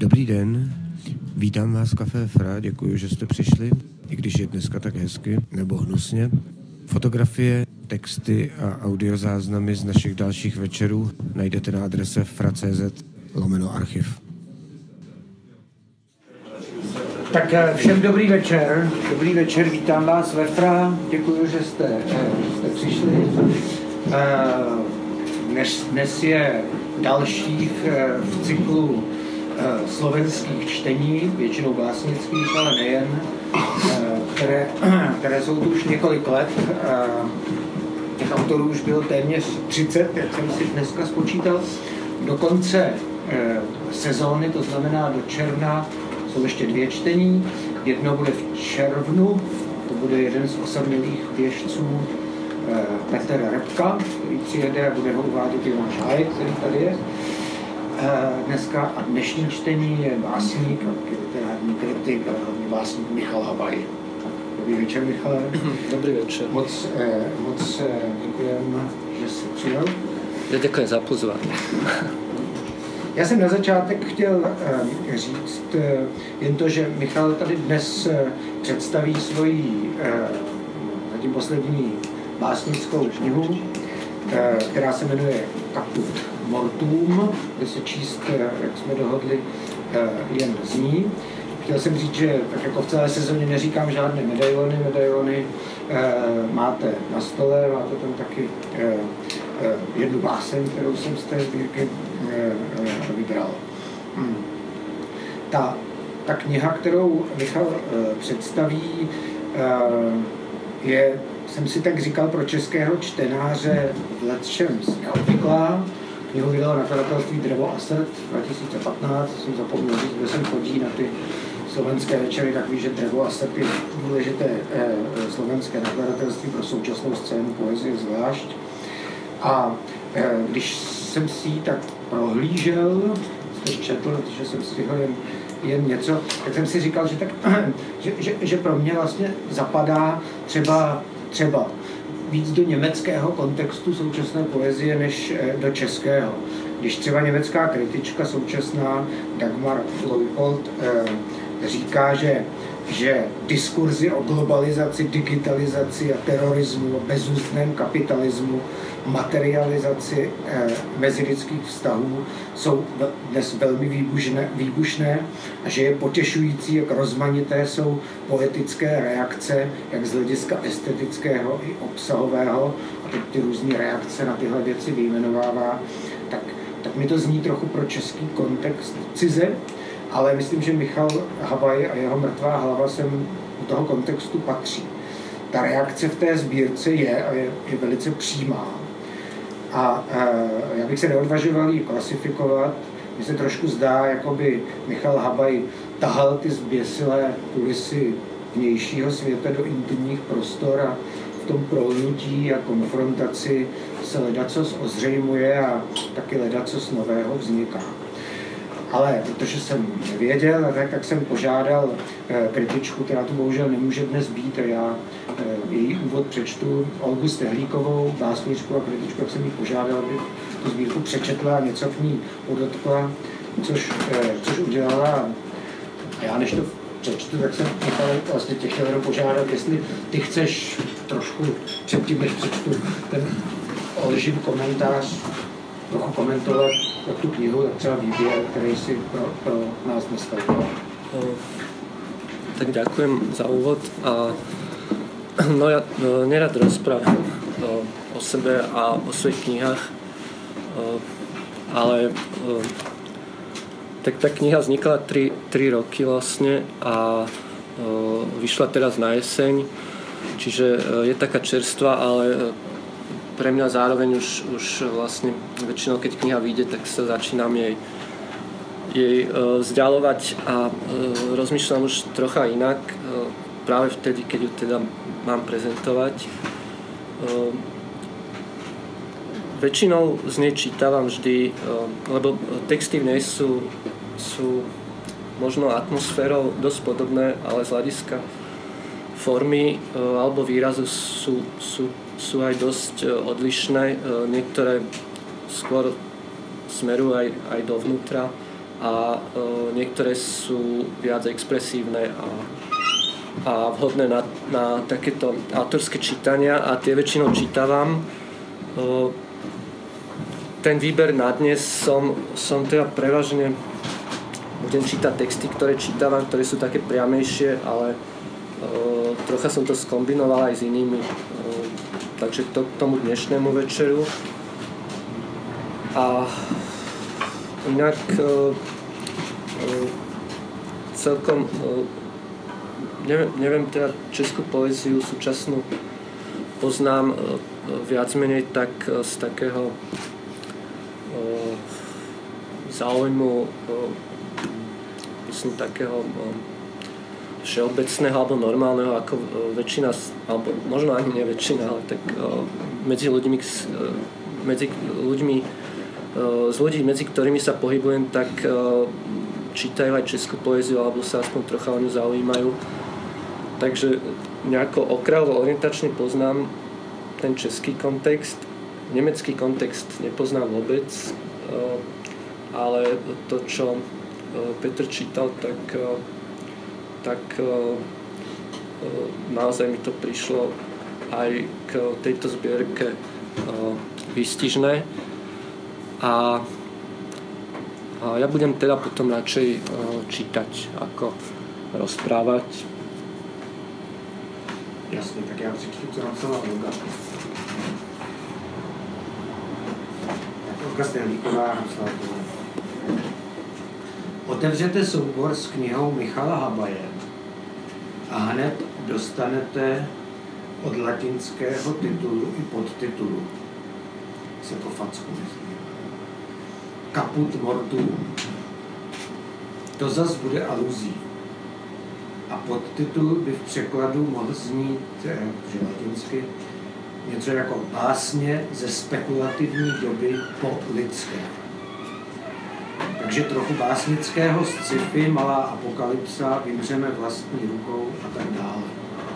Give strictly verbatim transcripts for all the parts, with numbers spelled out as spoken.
Dobrý den, vítám vás v Café Fra, děkuji, že jste přišli, i když je dneska tak hezky, nebo hnusně. Fotografie, texty a audiozáznamy z našich dalších večerů najdete na adrese fra.cz lomeno archiv. Tak všem dobrý večer, dobrý večer, vítám vás ve Fra, děkuji, že jste, jste přišli. Dnes, dnes je dalších v cyklu slovenských čtení, většinou básnických, ale nejen, které, které jsou tu už několik let. Těch autorů už bylo téměř třicet, jak jsem si dneska spočítal. Do konce sezóny, to znamená do června, jsou ještě dvě čtení. Jedno bude v červnu, to bude jeden z osamělých běžců Petr Repka, který přijede a bude ho uvádět i náš Hájek, který tady je dneska. A dnešní čtení je básník, literární kritik a hlavně básník Michal Habaj. Dobrý večer, Michale. Dobrý večer. Moc, moc děkujeme, že jsi přijel. Já děkuji za pozvání. Já jsem na začátek chtěl uh, říct uh, jen to, že Michal tady dnes uh, představí svoji uh, zatím poslední básnickou knihu, uh, která se jmenuje Caput Mortuum, kde se číst, uh, jak jsme dohodli, uh, jen z ní. Chtěl jsem říct, že tak jako v celé sezóně neříkám žádné medailony, medailony uh, máte na stole, máte tam taky uh, uh, jednu báseň, kterou jsem z té sbírky uh, uh, vybral. Hmm. Ta, ta kniha, kterou Michal uh, představí, uh, je, jsem si tak říkal, pro českého čtenáře v lecčems neobvyklá. Knihu vydalo nakladatelství Drevo a srd dva tisíce patnáct, jsem zapomněl říct, kde jsem chodí na ty slovenské večery, tak ví, že Drevo a srd je důležité eh, slovenské nakladatelství pro současnou scénu poezie zvlášť. A eh, když jsem si ji tak prohlížel, jsem četl, že jsem stihl jen, jen něco, tak jsem si říkal, že, tak, že, že, že pro mě vlastně zapadá třeba, třeba víc do německého kontextu současné poezie než do českého. Když třeba německá kritička současná Dagmar Leupold eh, říká, že, že diskurzy o globalizaci, digitalizaci a terorismu, o bezústném kapitalismu, materializaci eh, mezilidských vztahů jsou dnes velmi výbušné, výbušné a že je potěšující, jak rozmanité jsou poetické reakce, jak z hlediska estetického i obsahového, a teď ty různé reakce na tyhle věci vyjmenovává, tak, tak mi to zní trochu pro český kontext cize, ale myslím, že Michal Habaj a jeho Mrtvá hlava sem do toho kontextu patří. Ta reakce v té sbírce je a je, je velice přímá. A e, já bych se neodvažoval ji klasifikovat. Mně se trošku zdá, jako by Michal Habaj tahal ty zběsilé kulisy vnějšího světa do intimních prostor a v tom prolnutí a konfrontaci se ledacos ozřejmuje a taky ledacos nového vzniká. Ale protože jsem nevěděl, tak, tak jsem požádal e, kritičku, která tu bohužel nemůže dnes být, a já e, její úvod přečtu, Olgu Stehlíkovou, básničku a kritičku, jak jsem jí požádal, aby tu sbírku přečetla a něco k ní podotkla, což, e, což udělala. A já než to přečtu, tak jsem Michal vlastně tě chtěl jenom požádat, jestli ty chceš trošku předtím, než přečtu ten Olžin komentář, trochu komentovat jak tu knihu, tak třeba výběr, který si pro, pro nás dneska udělal. Tak ďakujem za úvod. A, no ja no, nerad rozprávam o, o sebe a o svojich knihách, o, ale o, tak tá kniha vznikla tri roky vlastne a o, vyšla teraz na jeseň, čiže o, je taká čerstvá, ale pre mňa zároveň už, už vlastne väčšinou, keď kniha vyjde, tak sa začínam jej, jej uh, vzdialovať a uh, rozmýšľam už trocha inak, uh, práve vtedy, keď ju teda mám prezentovať. Uh, väčšinou z nej čítavam vždy, uh, lebo texty v nej sú, sú možno atmosférou dosť podobné, ale z hľadiska formy uh, alebo výrazu sú, sú sú aj dosť odlišné. Niektoré skôr smerujú aj, aj dovnútra a niektoré sú viac expresívne a, a vhodné na, na takéto autorské čítania a tie väčšinou čítavam. Ten výber na dnes som, som teda prevažne budem čítať texty, ktoré čítavam, ktoré sú také priamejšie, ale uh, trocha som to skombinoval aj s inými. Uh, takže to k tomu dnešnému večeru. A inak uh, uh, celkom uh, neviem, neviem teda českú poéziu súčasnú poznám uh, viac menej tak uh, z takého uh, záujmu uh, myslím takého všeobecného alebo normálneho, ako väčšina, alebo možno ani nie väčšina, ale tak medzi ľuďmi, medzi ľuďmi z ľudí, medzi ktorými sa pohybujem, tak čítajú aj českú poéziu alebo sa aspoň trocha o ňu zaujímajú. Takže nejako okrajovo orientačne poznám ten český kontext. Nemecký kontext nepoznám vôbec, ale to, čo Petr čítal, tak, tak naozaj mi to prišlo aj k tejto zbierke výstižné. A, a ja budem teda potom radšej čítať, ako rozprávať. Jasně, tak já přečtu, co napsala Olga. Tak Olga Stenlíková napsala to. Otevřete soubor s knihou Michala Habaje a hned dostanete od latinského titulu i podtitulu. Se po facku myslím. Caput mortuum. To zas bude aluzí. A podtitul by v překladu mohl znít, že latinsky, něco jako básně ze spekulativní doby po lidské. Takže trochu básnického sci-fi, malá apokalypsa, vymřeme vlastní rukou a tak dále.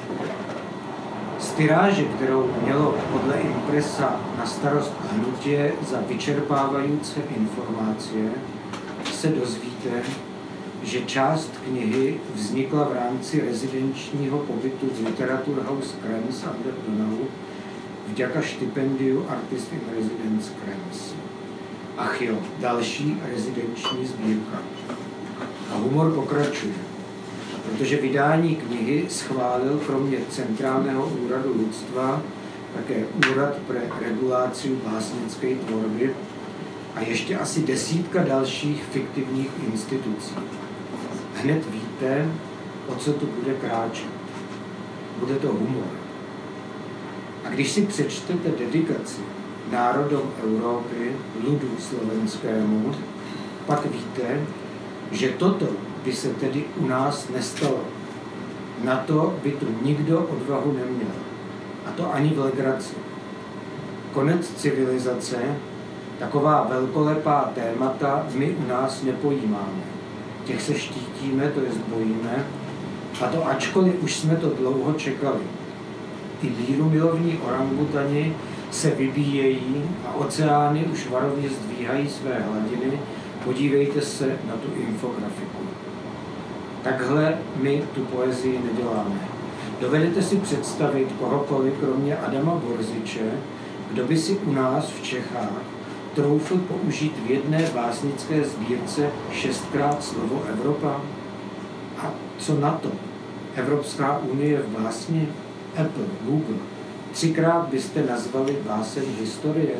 Z tiráže, kterou mělo podle Impresa na starost hnutě za vyčerpávající informace, se dozvíte, že část knihy vznikla v rámci rezidenčního pobytu v Literaturhaus Krems under Donau vďaka štipendiu Artist in Residence Krems. Ach jo, další rezidenční sbírka. A humor pokračuje, protože vydání knihy schválil kromě Centrálního úradu lidstva také Úrad pre reguláciu básnické tvorby a ještě asi desítka dalších fiktivních institucí. Hned víte, o co tu bude kráčet. Bude to humor. A když si přečtete dedikaci národom Európy, ľudu slovenskému, pak víte, že toto by se tedy u nás nestalo. Na to by tu nikdo odvahu neměl. A to ani v legraci. Konec civilizace, taková velkolepá témata my u nás nepojímáme. Těch se štítíme, to je zbojíme, a to ačkoliv už jsme to dlouho čekali. Ty mírumilovní orangutani se vybíjejí a oceány už varovně zdvíhají své hladiny. Podívejte se na tu infografiku. Takhle my tu poezii neděláme. Dovedete si představit kohokoliv, kromě Adama Borziče, kdo by si u nás v Čechách troufl použít v jedné básnické sbírce šestkrát slovo Evropa? A co na to? Evropská unie v básni? Apple, Google. Třikrát byste nazvali báseň historie.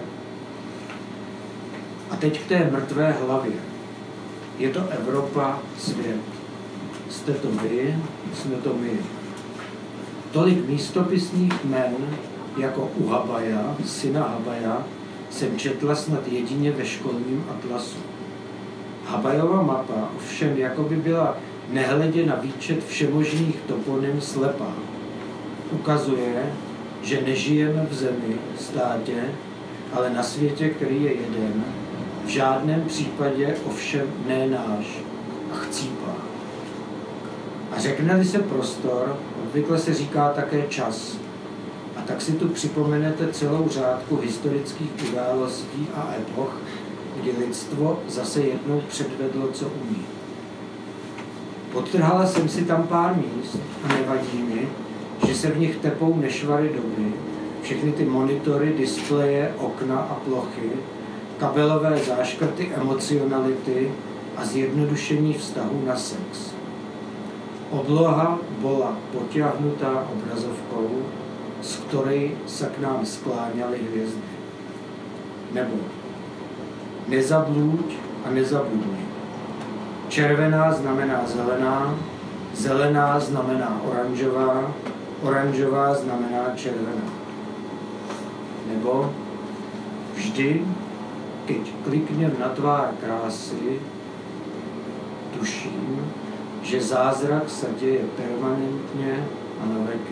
A teď k té mrtvé hlavě. Je to Evropa, svět. Jste to vy, jsme to my. Tolik místopisných jmen, jako u Habaja, syna Habaja, jsem četla snad jedině ve školním atlasu. Habajova mapa ovšem jakoby byla nehledě na výčet všemožných toponym slepá. Ukazuje, že nežijeme v zemi, státě, ale na světě, který je jeden, v žádném případě ovšem ne náš a chcípá. A řekne-li se prostor, obvykle se říká také čas. A tak si tu připomenete celou řádku historických událostí a epoch, kdy lidstvo zase jednou předvedlo, co umí. Podtrhala jsem si tam pár míst a nevadí mi, že se v nich tepou nešvary doby, všechny ty monitory, displeje, okna a plochy, kabelové záškrty emocionality a zjednodušení vztahu na sex. Obloha bola potiahnutá obrazovkou, z ktorej sa k nám skláňaly hvězdy. Nebo nezablúď a nezabudni. Červená znamená zelená, zelená znamená oranžová, oranžová znamená červená. Nebo vždy, keď kliknem na tvár krásy, tuším, že zázrak sa deje permanentně a na veky.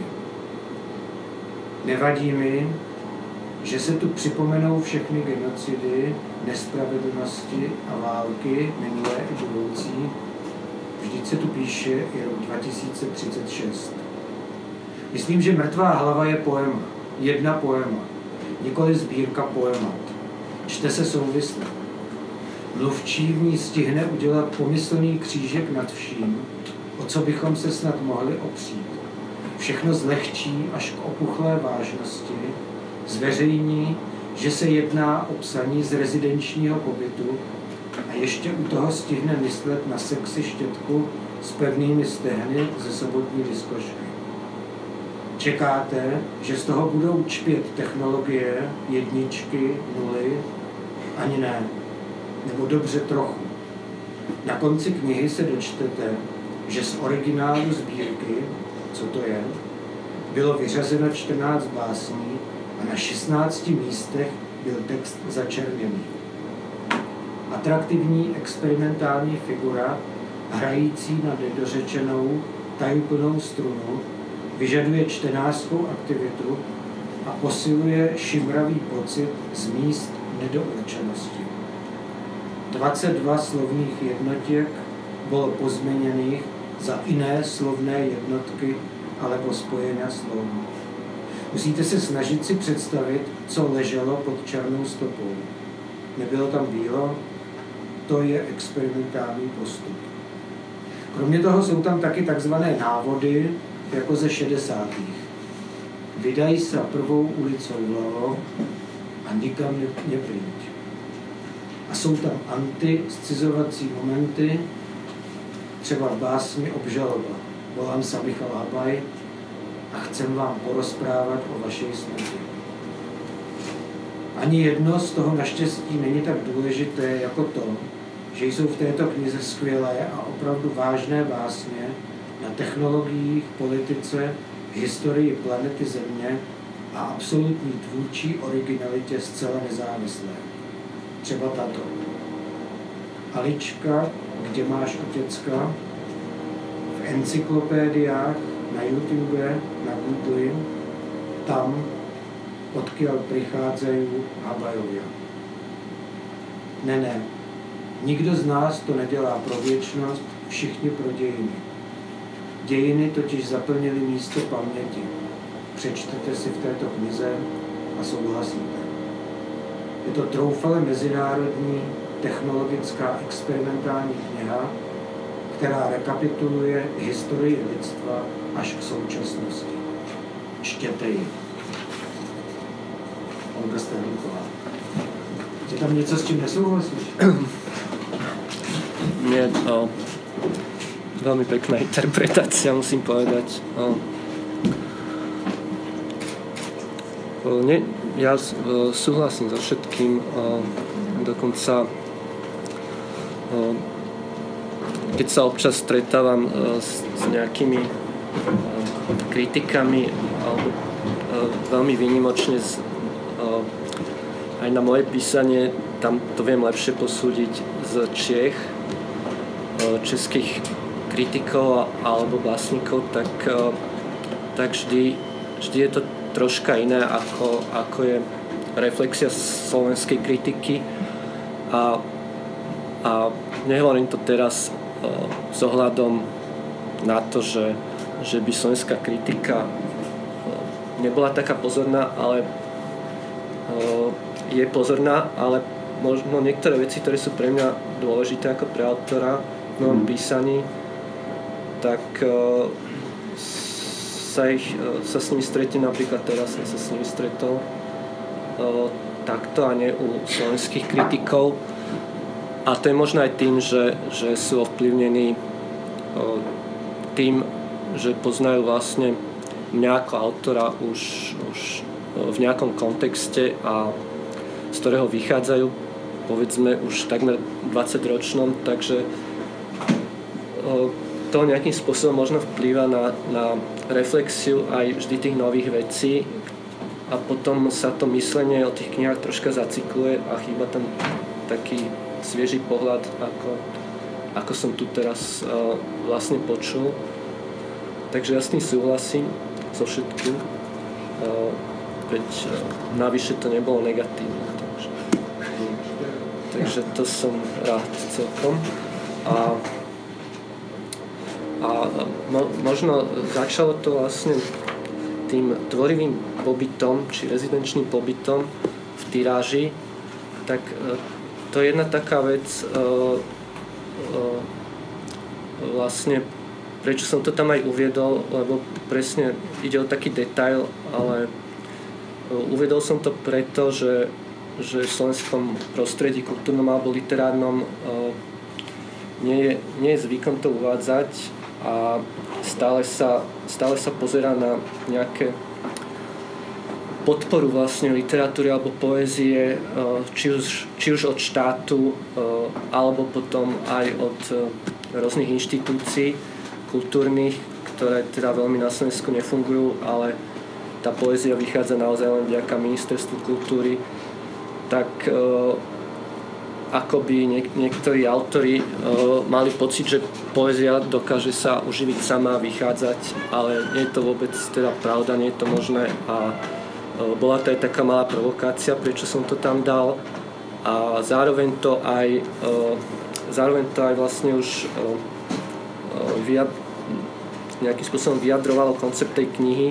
Nevadí mi, že se tu připomenou všechny genocidy, nespravedlnosti a války, minulé i budoucí. Vždyť se tu píše i rok dva tisíce třicet šest. Myslím, že Mrtvá hlava je poema, jedna poema, nikoli sbírka poemat. Čte se souvisle. Mluvčí v ní stihne udělat pomyslný křížek nad vším, o co bychom se snad mohli opřít. Všechno zlehčí až k opuchlé vážnosti, zveřejní, že se jedná o psaní z rezidenčního pobytu a ještě u toho stihne myslet na sexy štětku s pevnými stehny ze sobotní diskošky. Čekáte, že z toho budou čpět technologie, jedničky, nuly? Ani ne. Nebo dobře trochu. Na konci knihy se dočtete, že z originálu sbírky, co to je, bylo vyřazeno čtrnáct básní a na šestnácti místech byl text začerněný. Atraktivní experimentální figura, hrající na nedořečenou, tajuplnou strunu, vyžaduje čtenářskou aktivitu a posiluje šimravý pocit z míst nedourčenosti. dvacet dva slovních jednotiek bylo pozměněných za jiné slovné jednotky alebo spojenia slov. Musíte se snažit si představit, co leželo pod černou stopou. Nebylo tam bílo? To je experimentální postup. Kromě toho jsou tam taky takzvané návody, jako ze šedesátých. Vydaj sa prvou ulicou vlevo a nikam nepríď. A jsou tam antiscizovací momenty, třeba v básni Obžaloba. Volám sa Michal Habaj a chcem vám porozprávat o vašej smrti. Ani jedno z toho naštěstí není tak důležité jako to, že jsou v této knize skvělé a opravdu vážné básně na technologiích, politice, historii planety Země a absolutní tvůrčí originalitě zcela nezávislé. Třeba tato. Alička, kde máš otecka? V encyklopédiách, na YouTube, na Google, tam, odkiaľ prichádzajú Habajovia. Ne, ne. Nikdo z nás to nedělá pro věčnost, všichni pro dějiny. Dějiny totiž zaplnily místo paměti. Přečtete si v této knize a souhlasíte. Je to troufale mezinárodní, technologická experimentální kniha, která rekapituluje historii lidstva až k současnosti. Čtěte ji. Olga Sterlíková. Je tam něco, s čím nesouhlasíš? Nie, o, veľmi pekná interpretácia, musím povedať. O, o, nie, ja o, súhlasím so všetkým, o, dokonca o, keď sa občas stretávam o, s, s nejakými o, kritikami alebo o, veľmi výnimočne z, o, aj na moje písanie, tam to viem lepšie posúdiť z Čiech, českých kritikov alebo básnikov, tak, tak vždy, vždy je to troška iné, ako, ako je reflexia slovenskej kritiky. A, a nehovorím to teraz s ohľadom na to, že, že by slovenská kritika nebola taká pozorná, ale je pozorná, ale možno niektoré veci, ktoré sú pre mňa dôležité ako pre autora v mojom písaní, tak uh, sa, ich, uh, sa s nimi stretnem, napríklad teraz som sa s nimi stretol uh, takto a nie u slovenských kritikov. A to je možno aj tým, že, že sú ovplyvnení uh, tým, že poznajú vlastne mňa ako autora už, už v nejakom kontexte a z ktorého vychádzajú, povedzme už takmer dvadsaťročnom, takže to nejakým spôsobom možno vplýva na, na reflexiu aj vždy tých nových vecí a potom sa to myslenie o tých knihách troška zacykluje a chýba tam taký svieži pohľad, ako, ako som tu teraz uh, vlastne počul. Takže ja s tým súhlasím so všetkým, uh, veď uh, navyše to nebolo negatívne. Takže, takže to som rád celkom. A, a mo, možno začalo to vlastne tým tvorivým pobytom, či rezidenčným pobytom v tiráži, tak uh, to je jedna taká vec, uh, uh, vlastne prečo som to tam aj uviedol, lebo presne ide o taký detail, ale uviedol som to preto, že, že v slovenskom prostredí kultúrnom alebo literárnom nie je, nie je zvykom to uvádzať a stále sa, stále sa pozerá na nejaké podporu vlastne literatúry alebo poézie, či už, či už od štátu alebo potom aj od rôznych inštitúcií kultúrnych, ktoré teda veľmi na Slovensku nefungujú, ale tá poézia vychádza naozaj len vďaka ministerstvu kultúry, tak e, akoby niek- niektorí autori e, mali pocit, že poézia dokáže sa uživiť sama a vychádzať, ale nie je to vôbec teda pravda, nie je to možné a e, bola to aj taká malá provokácia, prečo som to tam dal a zároveň to aj e, zároveň to aj vlastne už e, Vyjad, nejakým spôsobom vyjadrovalo koncept tej knihy.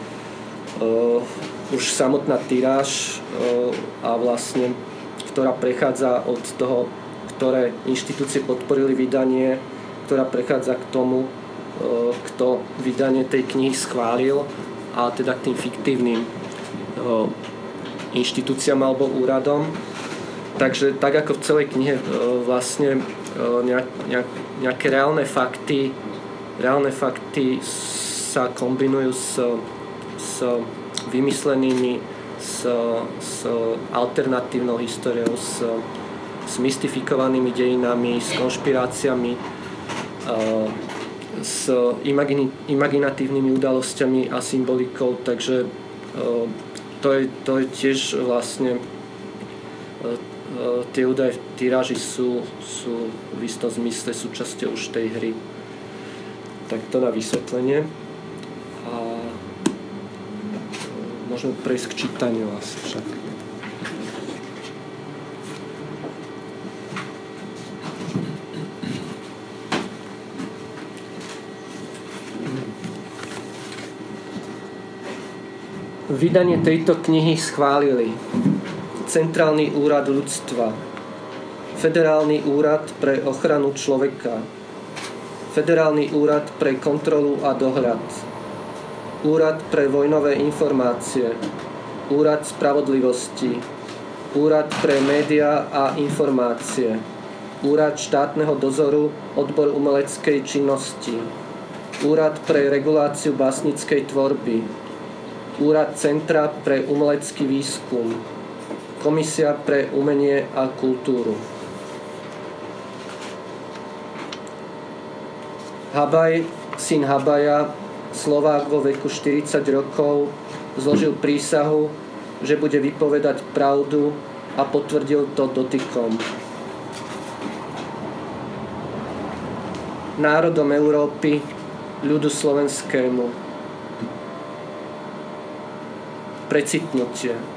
Uh, už samotná tiráž uh, a vlastne, ktorá prechádza od toho, ktoré inštitúcie podporili vydanie, ktorá prechádza k tomu, uh, kto vydanie tej knihy schválil a teda k tým fiktívnym uh, inštitúciám alebo úradom. Takže tak ako v celej knihe uh, vlastne Nejak, nejak, nejaké reálne fakty reálne fakty sa kombinujú s, s vymyslenými s, s alternatívnou históriou, s, s mystifikovanými dejinami, s konšpiráciami, s imagini, imaginatívnymi udalosťami a symbolikou, takže to je, to je tiež vlastne tie údaje v tiráži sú, sú v istom zmysle súčasťou už tej hry. Tak to na vysvetlenie. A môžeme prejsť k čítaniu asi však. Vydanie tejto knihy schválili Centrálny úrad ľudstva, Federálny úrad pre ochranu človeka, Federálny úrad pre kontrolu a dohľad, Úrad pre vojnové informácie, Úrad spravodlivosti, Úrad pre médiá a informácie, Úrad štátneho dozoru, odbor umeleckej činnosti, Úrad pre reguláciu básnickej tvorby, Úrad Centra pre umelecký výskum, Komisia pre umenie a kultúru. Habaj, syn Habaja, Slovák vo veku štyridsať rokov, zložil prísahu, že bude vypovedať pravdu a potvrdil to dotykom. Národom Európy, ľudu slovenskému. Precitnutie.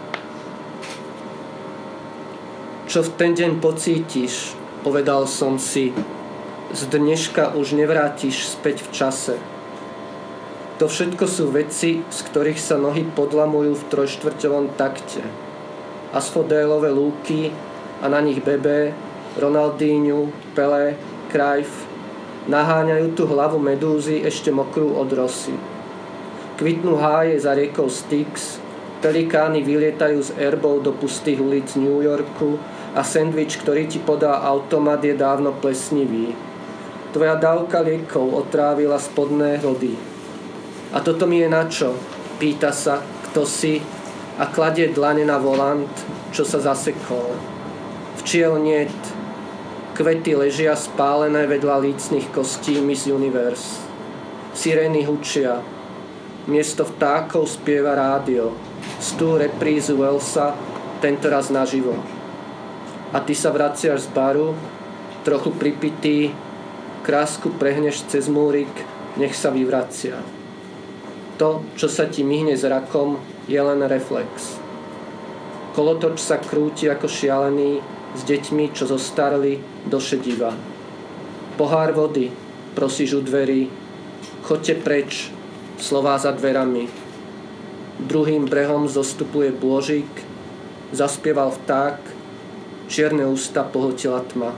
Čo v ten deň pocítiš, povedal som si, z dneška už nevrátiš späť v čase. To všetko sú veci, z ktorých sa nohy podlamujú v trojštvrťovom takte. Asfodélové lúky, a na nich Bebe, Ronaldinho, Pelé, Cruyff naháňajú tú hlavu medúzy ešte mokrú od rosy. Kvitnú háje za riekou Styx, pelikány vylietajú z erbov do pustých ulic New Yorku a sendvič, ktorý ti podá automat, je dávno plesnivý. Tvoja dávka liekov otrávila spodné vody. A toto mi je na čo? Pýta sa, kto si, a kladie dlane na volant, čo sa zasekol. Včiel niet. Kvety ležia spálené vedľa lícnych kostí Miss Universe. Sirény hučia. Miesto vtákov spieva rádio. Stú reprízu Wellsa, tentoraz naživo. A ty sa vraciaš z baru, trochu pripitý, krásku prehneš cez múrik, nech sa vyvracia. To, čo sa ti myhne zrakom, je len reflex. Kolotoč sa krúti ako šialený s deťmi, čo zostarli do šediva. Pohár vody, prosíš u dverí, choďte preč, slová za dverami. Druhým brehom zostupuje bôžik, zaspieval vták, čierne ústa pohltila tma.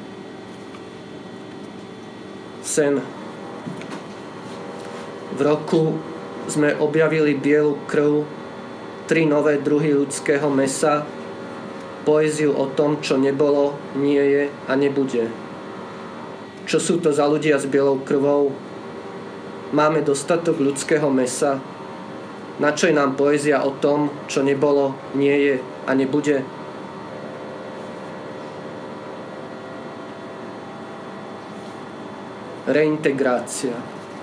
Sen. V roku sme objavili bielu krv, tri nové druhy ľudského mesa, poéziu o tom, čo nebolo, nie je a nebude. Čo sú to za ľudia s bielou krvou? Máme dostatok ľudského mesa? Na čo je nám poézia o tom, čo nebolo, nie je a nebude? Reintegrácia.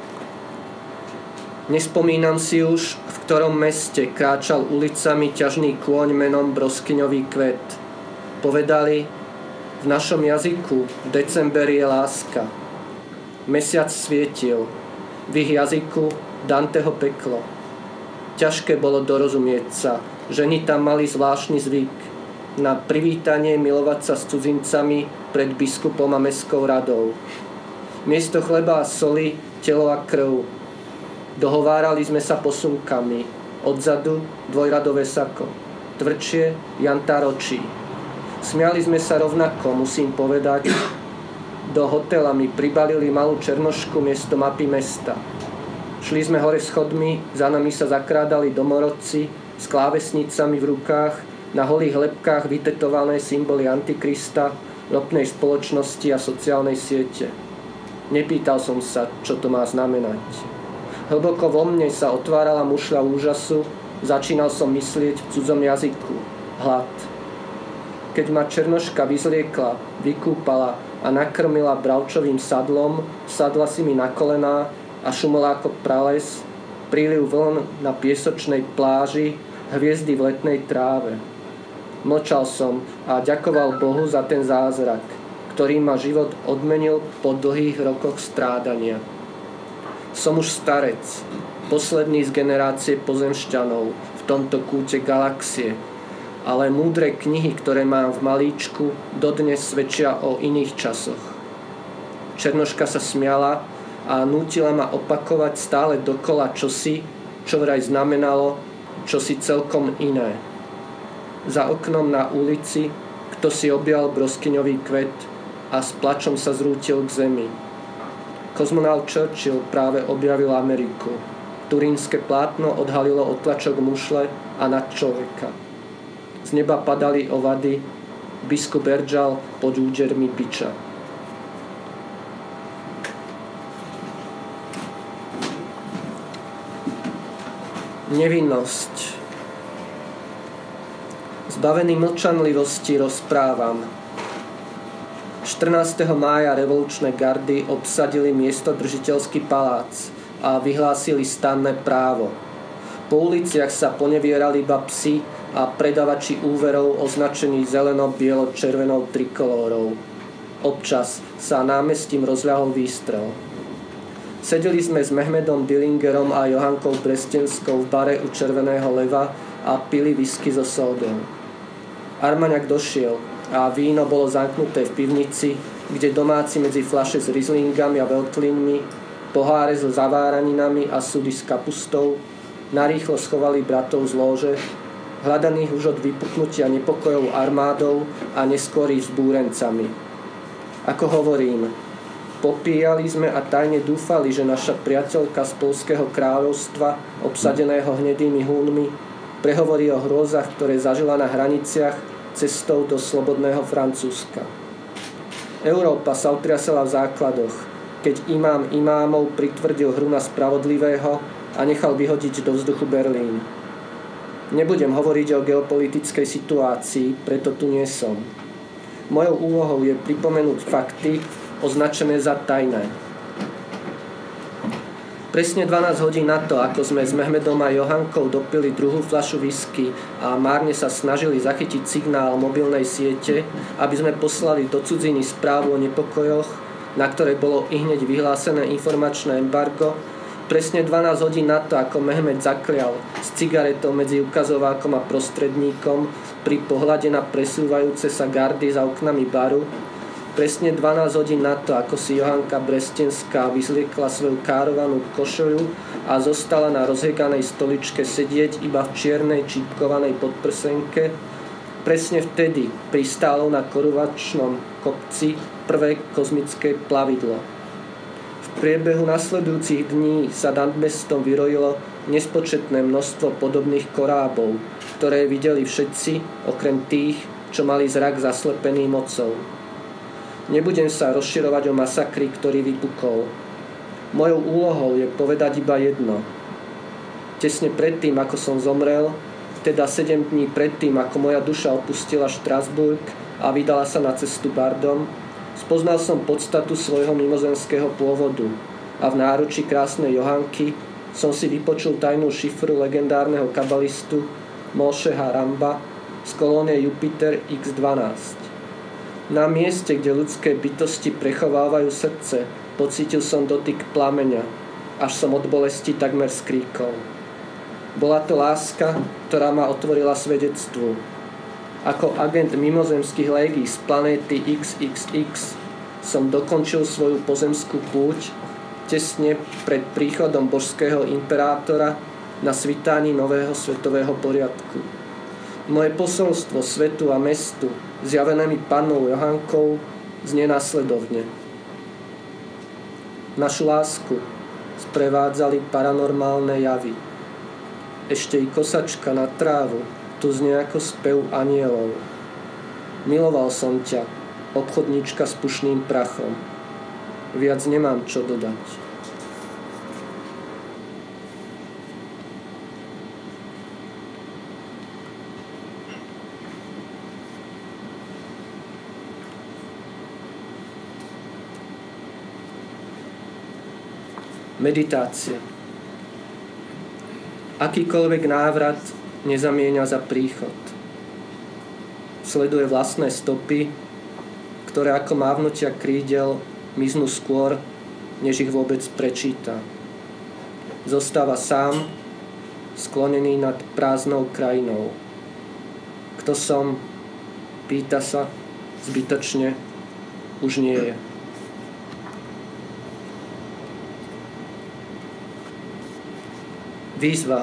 Nespomínam si už, v ktorom meste kráčal ulicami ťažný kôň menom Broskyňový kvet. Povedali, v našom jazyku v decemberi je láska. Mesiac svietil, v ich jazyku Danteho peklo. Ťažké bolo dorozumieť sa, ženy tam mali zvláštny zvyk na privítanie milovať sa s cudzincami pred biskupom a mestskou radou. Miesto chleba a soli, telo a krv. Dohovárali sme sa posunkami. Odzadu dvojradové sako. Tvrdšie jantáročí. Smiali sme sa rovnako, musím povedať. Do hotela mi pribalili malú černošku miesto mapy mesta. Šli sme hore schodmi, za nami sa zakrádali domorodci s klávesnicami v rukách, na holých lebkách vytetované symboly Antikrista, ropnej spoločnosti a sociálnej siete. Nepýtal som sa, čo to má znamenať. Hlboko vo mne sa otvárala mušľa úžasu, začínal som myslieť v cudzom jazyku. Hlad. Keď ma černoška vyzliekla, vykúpala a nakrmila bravčovým sadlom, sadla si mi na kolená a šumela ako prales, príliv vln na piesočnej pláži, hviezdy v letnej tráve. Mlčal som a ďakoval Bohu za ten zázrak, ktorý ma život odmenil po dlhých rokoch strádania. Som už starec, posledný z generácie pozemšťanov v tomto kúte galaxie, ale múdre knihy, ktoré mám v malíčku, dodnes svedčia o iných časoch. Černoška sa smiala a nútila ma opakovať stále dokola čosi, čo vraj znamenalo čosi celkom iné. Za oknom na ulici kto si objal Broskyňový kvet a s plačom sa zrútil k zemi. Kozmonaut Churchill práve objavil Ameriku. Turínske plátno odhalilo otlačok mušle a nad človeka. Z neba padali ovady, biskup beržal pod údermi biča. Nevinnosť. Zbavený mlčanlivosti rozprávam. štrnásteho mája revolučné gardy obsadili miestodržiteľský palác a vyhlásili stanné právo. Po uliciach sa ponevierali iba psi a predavači úverov označení zeleno-bielo-červenou trikolórou. Občas sa námestím rozľahol výstrel. Sedeli sme s Mehmedom Dillingerom a Johankou Brestenskou v bare u Červeného leva a pili whisky so sódou. Armaňak došiel a víno bolo zamknuté v pivnici, kde domáci medzi fľaše s rizlingami a veltlínmi, poháre so zaváraninami a sudy s kapustou narýchlo schovali bratov z lóže hľadaných už od vypuknutia nepokojov armádou a neskôr ich vzbúrencami. Ako hovorím, popíjali sme a tajne dúfali, že naša priateľka z Poľského kráľovstva, obsadeného hnedými Húnmi, prehovorí o hrôzach, ktoré zažila na hraniciach cestou do slobodného Francúzska. Európa sa otriasala v základoch, keď imám imámov pritvrdil hru na spravodlivého a nechal vyhodiť do vzduchu Berlín. Nebudem hovoriť o geopolitickej situácii, preto tu nie som. Mojou úlohou je pripomenúť fakty označené za tajné. Presne dvanásť hodín na to, ako sme s Mehmedom a Johankou dopili druhú fľašu whisky a márne sa snažili zachytiť signál mobilnej siete, aby sme poslali do cudziny správu o nepokojoch, na ktoré bolo ihneď vyhlásené informačné embargo, presne dvanásť hodín na to, ako Mehmed zaklial s cigaretou medzi ukazovákom a prostredníkom pri pohľade na presúvajúce sa gardy za oknami baru, presne dvanásť hodín na to, ako si Johanka Brestenská vyzliekla svoju károvanú košoľu a zostala na rozheganej stoličke sedieť iba v čiernej čípkovanej podprsenke, presne vtedy pristálo na koruvačnom kopci prvé kozmické plavidlo. V priebehu nasledujúcich dní sa nad mestom vyrojilo nespočetné množstvo podobných korábov, ktoré videli všetci, okrem tých, čo mali zrak zaslepený mocou. Nebudem sa rozširovať o masakri, ktorý vypukol. Mojou úlohou je povedať iba jedno. Tesne predtým, ako som zomrel, teda sedem dní predtým, ako moja duša opustila Štrasburg a vydala sa na cestu Bardom, spoznal som podstatu svojho mimozemského pôvodu a v náruči krásnej Johanky som si vypočul tajnú šifru legendárneho kabalistu Mosheha Ramba z kolónie Jupiter iks dvanásť. Na mieste, kde ľudské bytosti prechovávajú srdce, pocítil som dotyk plameňa, až som od bolesti takmer skríkol. Bola to láska, ktorá ma otvorila svedectvu. Ako agent mimozemských légií z planéty iks iks iks som dokončil svoju pozemskú púť tesne pred príchodom božského imperátora na svitání nového svetového poriadku. Moje posolstvo svetu a mestu, zjavené mi pannou Johankou, znie nasledovne. Našu lásku sprevádzali paranormálne javy. Ešte i kosačka na trávu tu znie ako spev anielov. Miloval som ťa, obchodníčka s pušným prachom. Viac nemám čo dodať. Meditácia. Akýkoľvek návrat nezamieňa za príchod. Sleduje vlastné stopy, ktoré ako mávnutia krídel miznú skôr, než ich vôbec prečíta. Zostáva sám, sklonený nad prázdnou krajinou. Kto som? Pýta sa, zbytočne, už nie je. Výzva.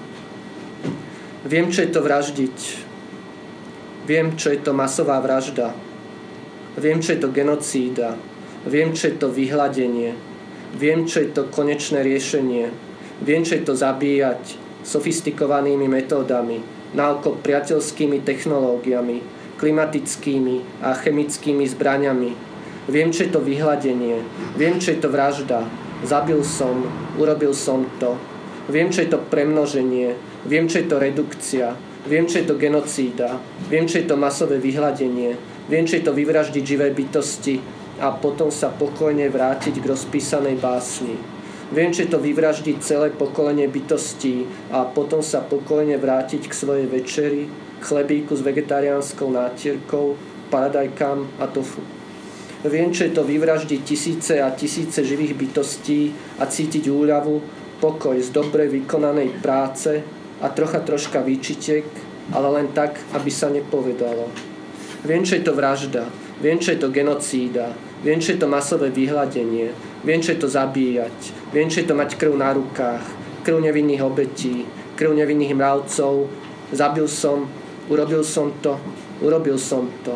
Viem, čo je to vraždiť. Viem, čo je to masová vražda. Viem, čo je to genocída. Viem, čo je to vyhladenie. Viem, čo je to konečné riešenie. Viem, čo je to zabíjať sofistikovanými metódami, naoko priateľskými technológiami, klimatickými a chemickými zbraňami. Viem, čo je to vyhladenie. Viem, čo je to vražda. Zabil som, urobil som to. Viem, čo je to premnoženie, viem, čo je to redukcia, viem, čo je to genocída, viem, čo je to masové vyhladenie, viem, čo je to vyvraždiť živé bytosti a potom sa pokojne vrátiť k rozpísanej básni. Viem, čo je to vyvraždiť celé pokolenie bytostí a potom sa pokojne vrátiť k svojej večeri, k chlebíku s vegetariánskou nátierkou, paradajkám a tofu. Viem, čo je to vyvraždiť tisíce a tisíce živých bytostí a cítiť úľavu, pokoj z dobre vykonanej práce a trocha troška výčitek, ale len tak, aby sa nepovedalo. Viem, čo je to vražda, viem, čo je to genocída, viem, čo je to masové vyhladenie, viem, čo je to zabíjať, viem, čo je to mať krv na rukách, krv nevinných obetí, krv nevinných mravcov zabil som, urobil som to, urobil som to.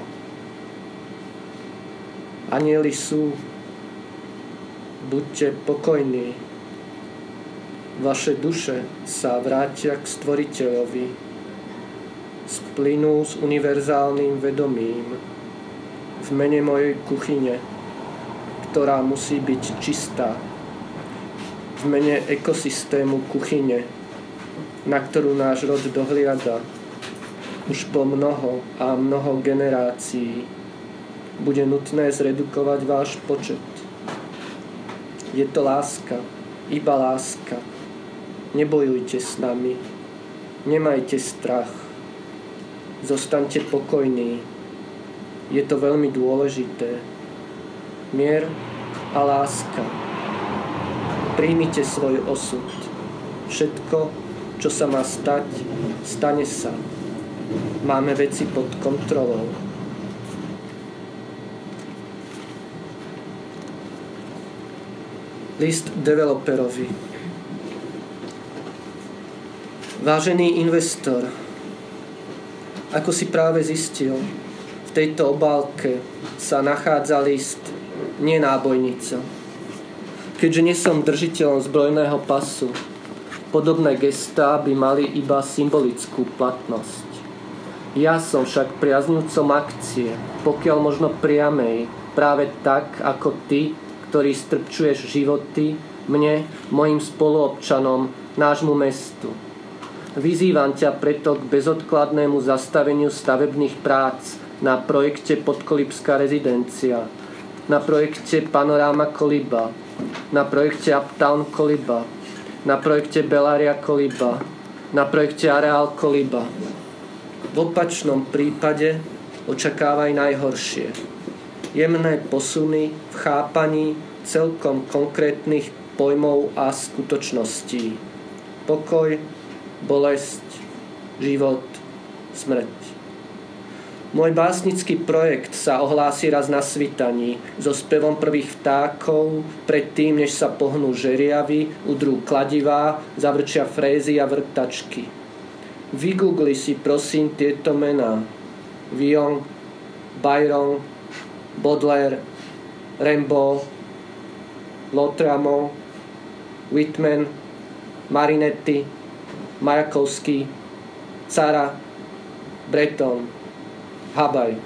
Anjeli sú, buďte pokojní. Vaše duše sa vrátia k Stvoriteľovi. Splynú s univerzálnym vedomím v mene mojej kuchyne, ktorá musí byť čistá. V mene ekosystému kuchyne, na ktorú náš rod dohliada už po mnoho a mnoho generácií, bude nutné zredukovať váš počet. Je to láska, iba láska. Nebojujte s nami, nemajte strach, zostaňte pokojní. Je to veľmi dôležité. Mier a láska. Príjmite svoj osud. Všetko, čo sa má stať, stane sa. Máme veci pod kontrolou. List developerovi. Vážený investor, ako si práve zistil, v tejto obálke sa nachádza list, nie nábojnica. Keďže nie som držiteľom zbrojného pasu, podobné gestá by mali iba symbolickú platnosť. Ja som však priaznivcom akcie, pokiaľ možno priamej, práve tak ako ty, ktorý strpčuješ životy mne, mojim spoluobčanom, nášmu mestu. Vyzývam ťa preto k bezodkladnému zastaveniu stavebných prác na projekte Podkolibská rezidencia, na projekte Panoráma Koliba, na projekte Uptown Koliba, na projekte Bellaria Koliba, na projekte Areál Koliba. V opačnom prípade očakávaj najhoršie. Jemné posuny v chápaní celkom konkrétnych pojmov a skutočností. Pokoj, bolesť, život, smrť. Môj básnický projekt sa ohlási raz na svitaní so spevom prvých vtákov, predtým, než sa pohnú žeriavy, udrú kladivá, zavrčia frézy a vrtačky. Vygoogli si prosím tieto mená. Villon, Byron, Baudelaire, Rimbaud, Lautréamont, Whitman, Marinetti, Majakovský, Cara, Breton, Habaj.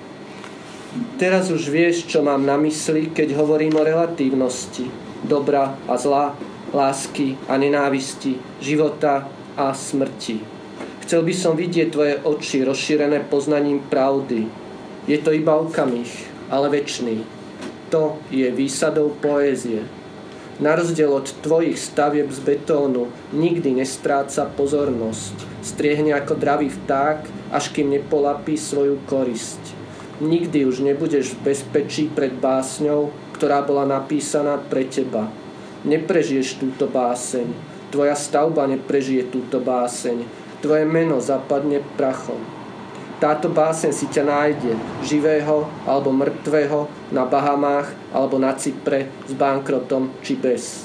Teraz už vieš, čo mám na mysli, keď hovorím o relatívnosti, dobra a zla, lásky a nenávisti, života a smrti. Chcel by som vidieť tvoje oči rozšírené poznaním pravdy. Je to iba okamih, ale večný. To je výsadou poézie. Na rozdiel od tvojich stavieb z betónu nikdy nestráca pozornosť. Striehne ako dravý vták, až kým nepolapí svoju korisť. Nikdy už nebudeš v bezpečí pred básňou, ktorá bola napísaná pre teba. Neprežiješ túto báseň. Tvoja stavba neprežije túto báseň. Tvoje meno zapadne prachom. Táto báseň si ťa nájde, živého alebo mŕtvého, na Bahamách alebo na Cypre, s bankrotom či bez.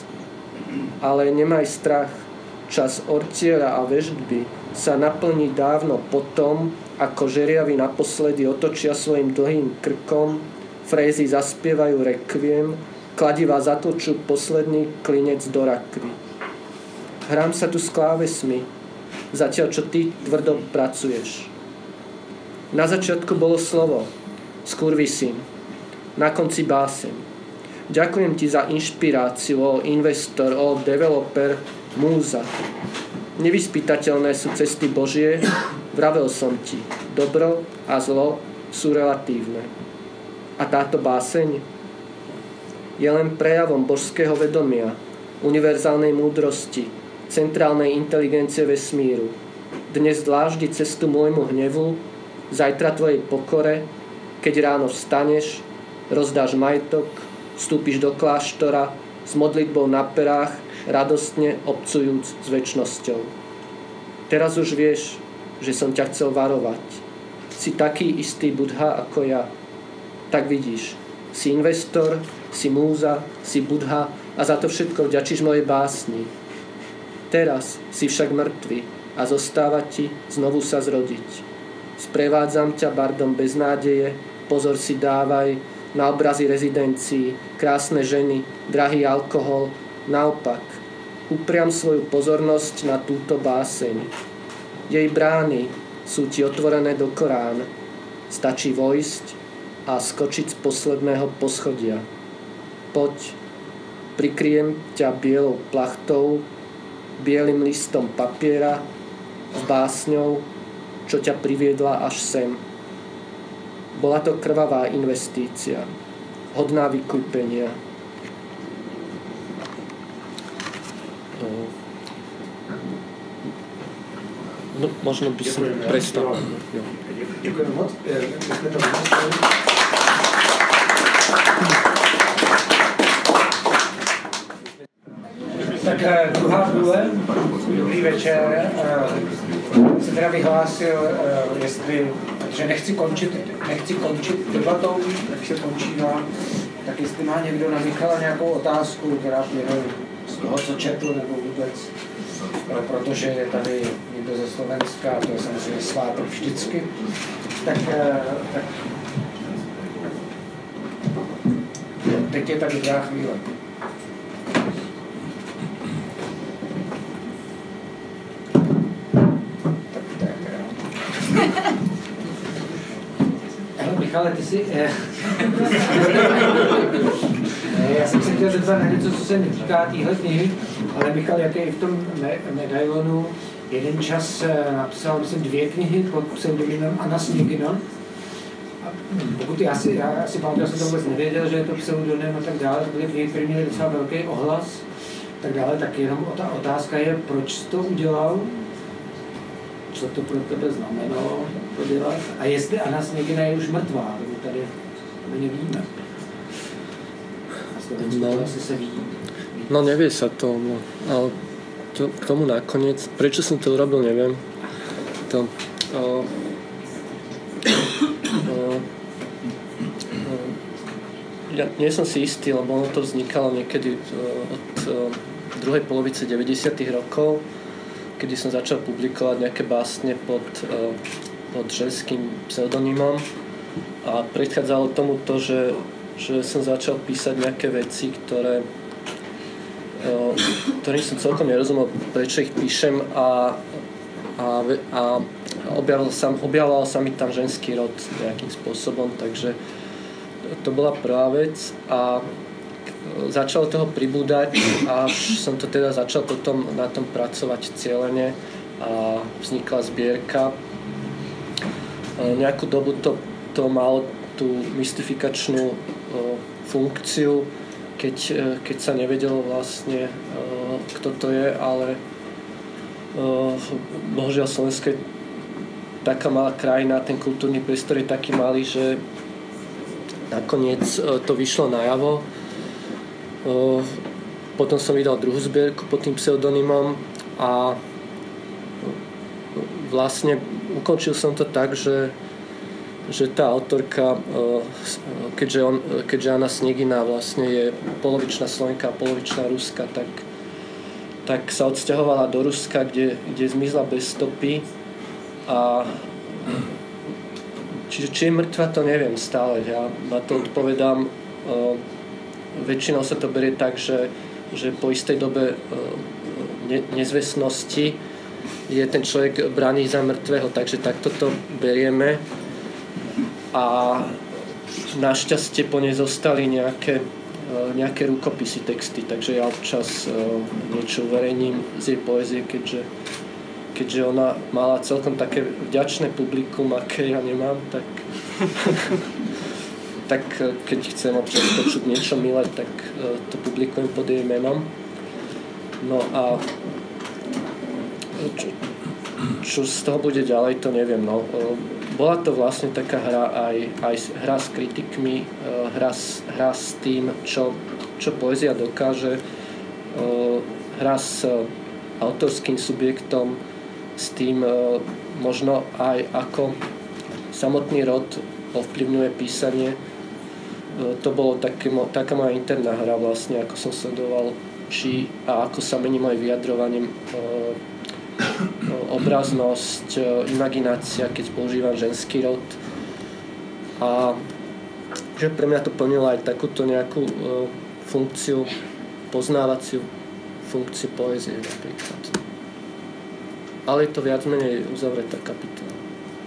Ale nemaj strach, čas ortiera a veštby sa naplní dávno potom, ako žeriavy naposledy otočia svojim dlhým krkom, frézy zaspievajú rekviem, kladiva zatočú posledný klinec do rakvy. Hrám sa tu s klávesmi, zatiaľ čo ty tvrdo pracuješ. Na začiatku bolo slovo, skurvisím, na konci báseň. Ďakujem ti za inšpiráciu, ó investor, ó developer, múza. Nevyspytateľné sú cesty Božie, vravel som ti, dobro a zlo sú relatívne. A táto báseň je len prejavom božského vedomia, univerzálnej múdrosti, centrálnej inteligencie vesmíru. Dnes dláždi cestu môjmu hnevu, zajtra tvojej pokore, keď ráno vstaneš, rozdáš majetok, vstúpiš do kláštora s modlitbou na perách, radostne obcujúc s večnosťou. Teraz už vieš, že som ťa chcel varovať. Si taký istý Budha ako ja. Tak vidíš, si investor, si múza, si Budha a za to všetko vďačíš mojej básni. Teraz si však mŕtvy. a zostáva ti znovu sa zrodiť. Sprevádzam ťa bardom bez nádeje, pozor si dávaj na obrazy rezidencií, krásne ženy, drahý alkohol. Naopak, upriam svoju pozornosť na túto báseň. Jej brány sú ti otvorené do Korán. Stačí vojsť a skočiť z posledného poschodia. Poď, prikryjem ťa bielou plachtou, bielým listom papiera, s básňou, čo ťa priviedla až sem. Bola to krvavá investícia, hodná vykúpenia. No, možno by som prestal. Ďakujem moc. Tak druhá vůle, dobrý večer, se teda vyhlásil, jestli, že nechci končit, nechci končit debatou, jak se končívá, tak jestli má někdo na Michala nějakou otázku, která plyne z toho, co četl, nebo vůbec, protože je tady někdo ze Slovenska, to je samozřejmě svátek vždycky, tak, tak teď je tady dobrá chvíle. Ale ty si... Já jsem se chtěl zeptat na něco, co se netýká téhle knihy, ale Michal, jaký v tom me- medailonu jeden čas napsal, myslím, dvě knihy pod pseudonymem Anna Sněgina. Pokud já si, já si pamatuju, já jsem to vůbec nevěděl, že je to pseudonym a tak dále, to byly knihy, které měly docela velký ohlas, tak dále, tak jenom ta otázka je, proč jsi to udělal? Co to pro tebe znamenalo to dělat? A jestli Anna Sněgina je už mrtvá, nebo tady my nevíme. No, to asi se ví. No nevie sa to, no, ale to, k tomu nakoniec, prečo som to urobil, neviem. To, o, o, o, ja nie som si istý, lebo ono to vznikalo niekedy od o, druhej polovice deväťdesiatych rokov, kedy som začal publikovať nejaké básne pod, pod ženským pseudonymom a predchádzalo tomu to, že, že som začal písať nejaké veci, ktoré, ktorým som celkom nerozumel, prečo ich píšem a, a, a objavoval, sa, objavoval sa mi tam ženský rod nejakým spôsobom, takže to bola prvá vec a začalo toho pribúdať, až som to teda začal potom na tom pracovať cieľene a vznikla zbierka. Nejakú dobu to, to malo tú mystifikačnú uh, funkciu, keď, uh, keď sa nevedelo vlastne, uh, kto to je, ale uh, bohužiaľ Slovensko je taká malá krajina, ten kultúrny priestor je taký malý, že nakoniec uh, to vyšlo najavo. Uh, potom som vydal druhú zbierku pod tým pseudonymom a vlastne ukončil som to tak, že že tá autorka, keďže, on, keďže Anna Sněgina vlastne je polovičná Slovenka a polovičná Ruska, tak, tak sa odsťahovala do Ruska, kde, kde zmizla bez stopy a čiže či je mŕtva, to neviem stále. Ja na to odpovedám, väčšinou sa to berie tak, že, že po istej dobe ne, nezvestnosti je ten človek braný za mŕtvého, takže takto to berieme. A našťastie po nej zostali nejaké, nejaké rukopisy, texty, takže ja občas niečo uverejním z jej poézie, keďže, keďže ona mala celkom také vďačné publikum, aké ja nemám, tak, tak keď chcem občas počuť niečo milé, tak to publikujem pod jej menom. No a čo, čo z toho bude ďalej, to neviem. No. Bola to vlastne taká hra aj, aj hra s kritikmi, hra, hra s tým, čo, čo poézia dokáže, hra s autorským subjektom, s tým možno aj ako samotný rod ovplyvňuje písanie. To bolo také, taká moja interná hra vlastne, ako som sledoval, či a ako sa mení moje vyjadrovanie obraznosť, imaginácia, keď používam ženský rod. A že pre mňa to plnilo aj takúto nejakú funkciu, poznávaciu funkciu poézie napríklad. Ale je to viac menej uzavretá kapitola.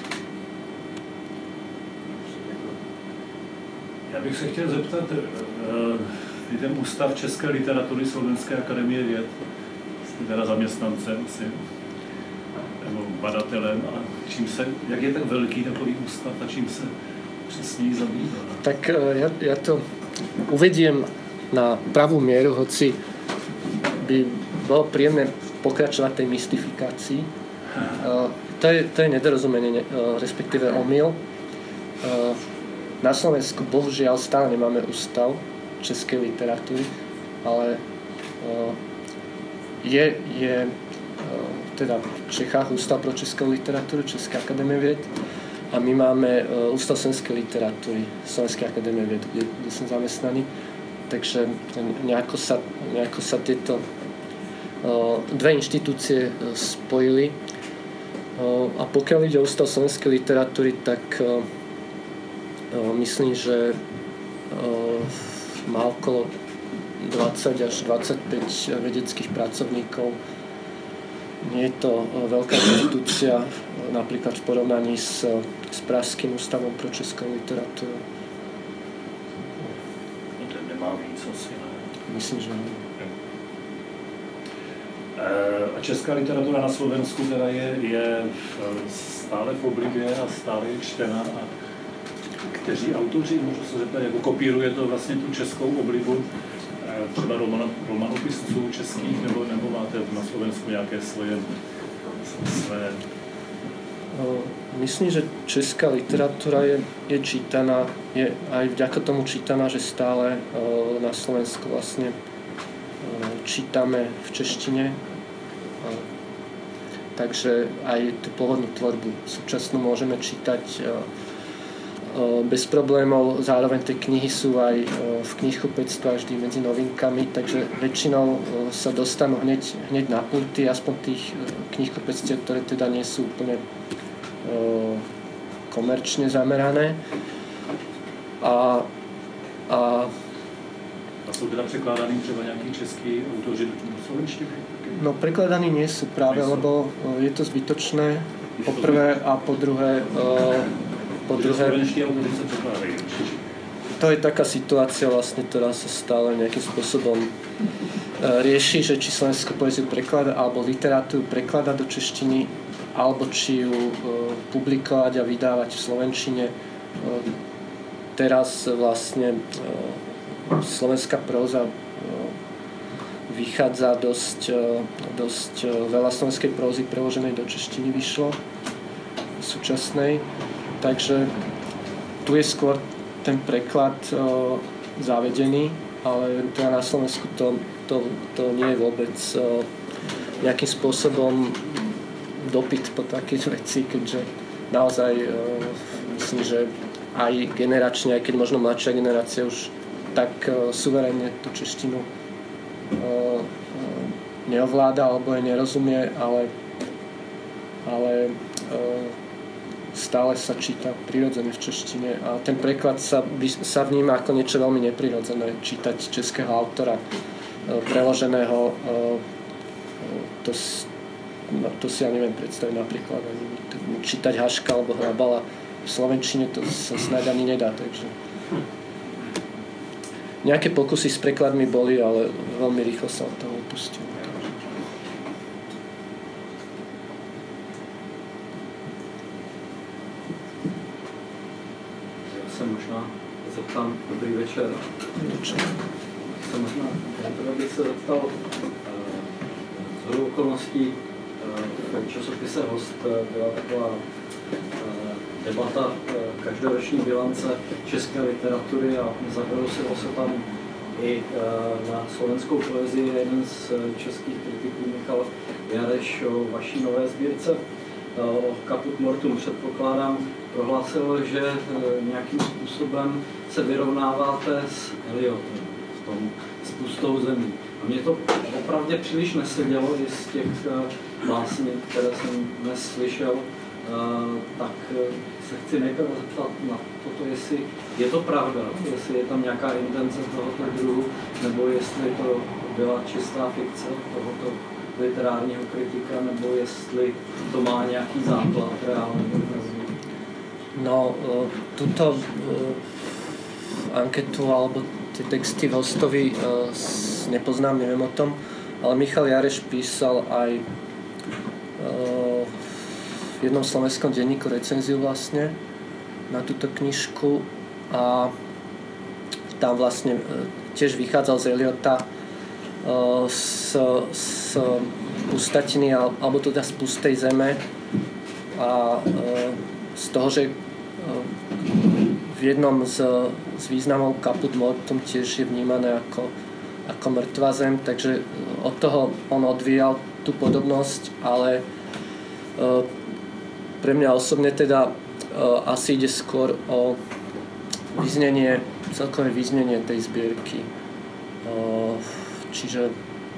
Já bych se chtěl zeptat, je ten Ústav české literatury Slovenské akademie věd, jste teda zaměstnancem asi, nebo badatelem, a čím se, jak je tak velký takový ústav a čím se přesně zabývá? Tak ja, ja to uvediem na pravú mieru, hoci by bolo príjemné pokračovať tej mystifikácii. Uh, to, je, to je nedorozumenie, uh, respektíve omyl. Uh, na Slovensku bohužiaľ stále nemáme ústav českej literatúry, ale uh, je, je uh, teda v Čechách Ústav pro českou literatúru Česká akadémie vied a my máme uh, Ústav slovenskej literatúry Slovenskej akadémie vied, kde, kde som zamestnaný. Takže nejako sa, nejako sa tieto uh, dve inštitúcie uh, spojili. Uh, a pokiaľ ide o Ústav slovenskej literatúry, tak uh, uh, myslím, že uh, má okolo dvadsať až dvadsaťpäť vedeckých pracovníkov. Nie je to uh, veľká inštitúcia, uh, napríklad v porovnaní s, uh, s Pražským ústavom pro českou literatúru. Myslím, že a česká literatura na Slovensku teda je, je stále v oblibě a stále je čtená. A kteří autoři, můžu se zeptat, jako kopíruje to vlastně tu českou oblibu, třeba roman, romanopisců českých, nebo, nebo máte na Slovensku nějaké svoje své? Myslím, že česká literatúra je, je čítaná, je aj vďaka tomu čítaná, že stále uh, na Slovensku vlastne uh, čítame v češtine. Uh, takže aj tú pôvodnú tvorbu súčasnú môžeme čítať uh, uh, bez problémov. Zároveň tie knihy sú aj uh, v knihkupectve vždy medzi novinkami, takže väčšinou uh, sa dostanú hneď, hneď na pulty, aspoň tých uh, knihkupectiev, ktoré teda nie sú úplne komerčne zamerané. A, a, a sú teda prekládaní třeba nejakí českí autoři do slovenštiny? No prekladaní nie sú práve, nie sú. Lebo je to zbytočné, po prvé, a po druhé po druhé slovenští autoři sa prekládajú. To je taká situácia vlastne, ktorá sa stále nejakým spôsobom rieši, že či slovenskú poéziu preklada alebo literatúru preklada do češtiny, alebo či ju e, publikovať a vydávať v slovenčine. E, teraz vlastne e, slovenská próza e, vychádza dosť, e, dosť e, veľa slovenskej prózy preloženej do češtiny vyšlo súčasnej. Takže tu je skôr ten preklad e, zavedený, ale teda na Slovensku to, to, to nie je vôbec e, nejakým spôsobom dopyt po takých veci, keďže naozaj uh, myslím, že aj generačne, aj keď možno mladšia generácia už tak uh, suverénne tú češtinu uh, uh, neovláda alebo jej nerozumie, ale, ale uh, stále sa číta prirodzene v češtine a ten preklad sa, sa vníma ako niečo veľmi neprirodzené, čítať českého autora uh, preloženého uh, to No, to si ja neviem predstaviť napríklad ani čítať Haška alebo Hrabala v slovenčine, to sa snáď ani nedá, takže nejaké pokusy s prekladmi boli, ale veľmi rýchlo sa od toho upustili. Ja sa možná zeptám, dobrý večer. Večer. Sa možná, ja bych sa zeptal z hodou okolností v časopise Host byla taková debata každoroční bilance české literatury a zabralo se tam i na slovenskou poezii. Jeden z českých kritiků, Michal Jareš, o vaší nové sbírce o Caput Mortum, předpokládám, prohlásil, že nějakým způsobem se vyrovnáváte s Eliotem v tom pustou zemí. A mě to opravdu příliš nesedělo i z těch básní, které jsem dnes slyšel, tak se chci nejprve zeptat na toto, jestli je to pravda, jestli je tam nějaká intence tohoto druhu, nebo jestli to byla čistá fikce tohoto literárního kritika, nebo jestli to má nějaký základ reálný. No, túto anketu alebo tie texty v Hostovi nepoznám, neviem o tom, ale Michal Jareš písal aj v jednom slovenskom denníku recenziu vlastne na túto knižku a tam vlastne tiež vychádzal z Eliota z, z pustatiny alebo teda z pustej zeme a z toho, že v jednom z, z významov Caput Mortuum tiež je vnímané ako, ako mŕtva zem, takže od toho on odvíjal tú podobnosť, ale pre mňa osobne teda asi ide skôr o vyznenie, celkové vyznenie tej zbierky. Čiže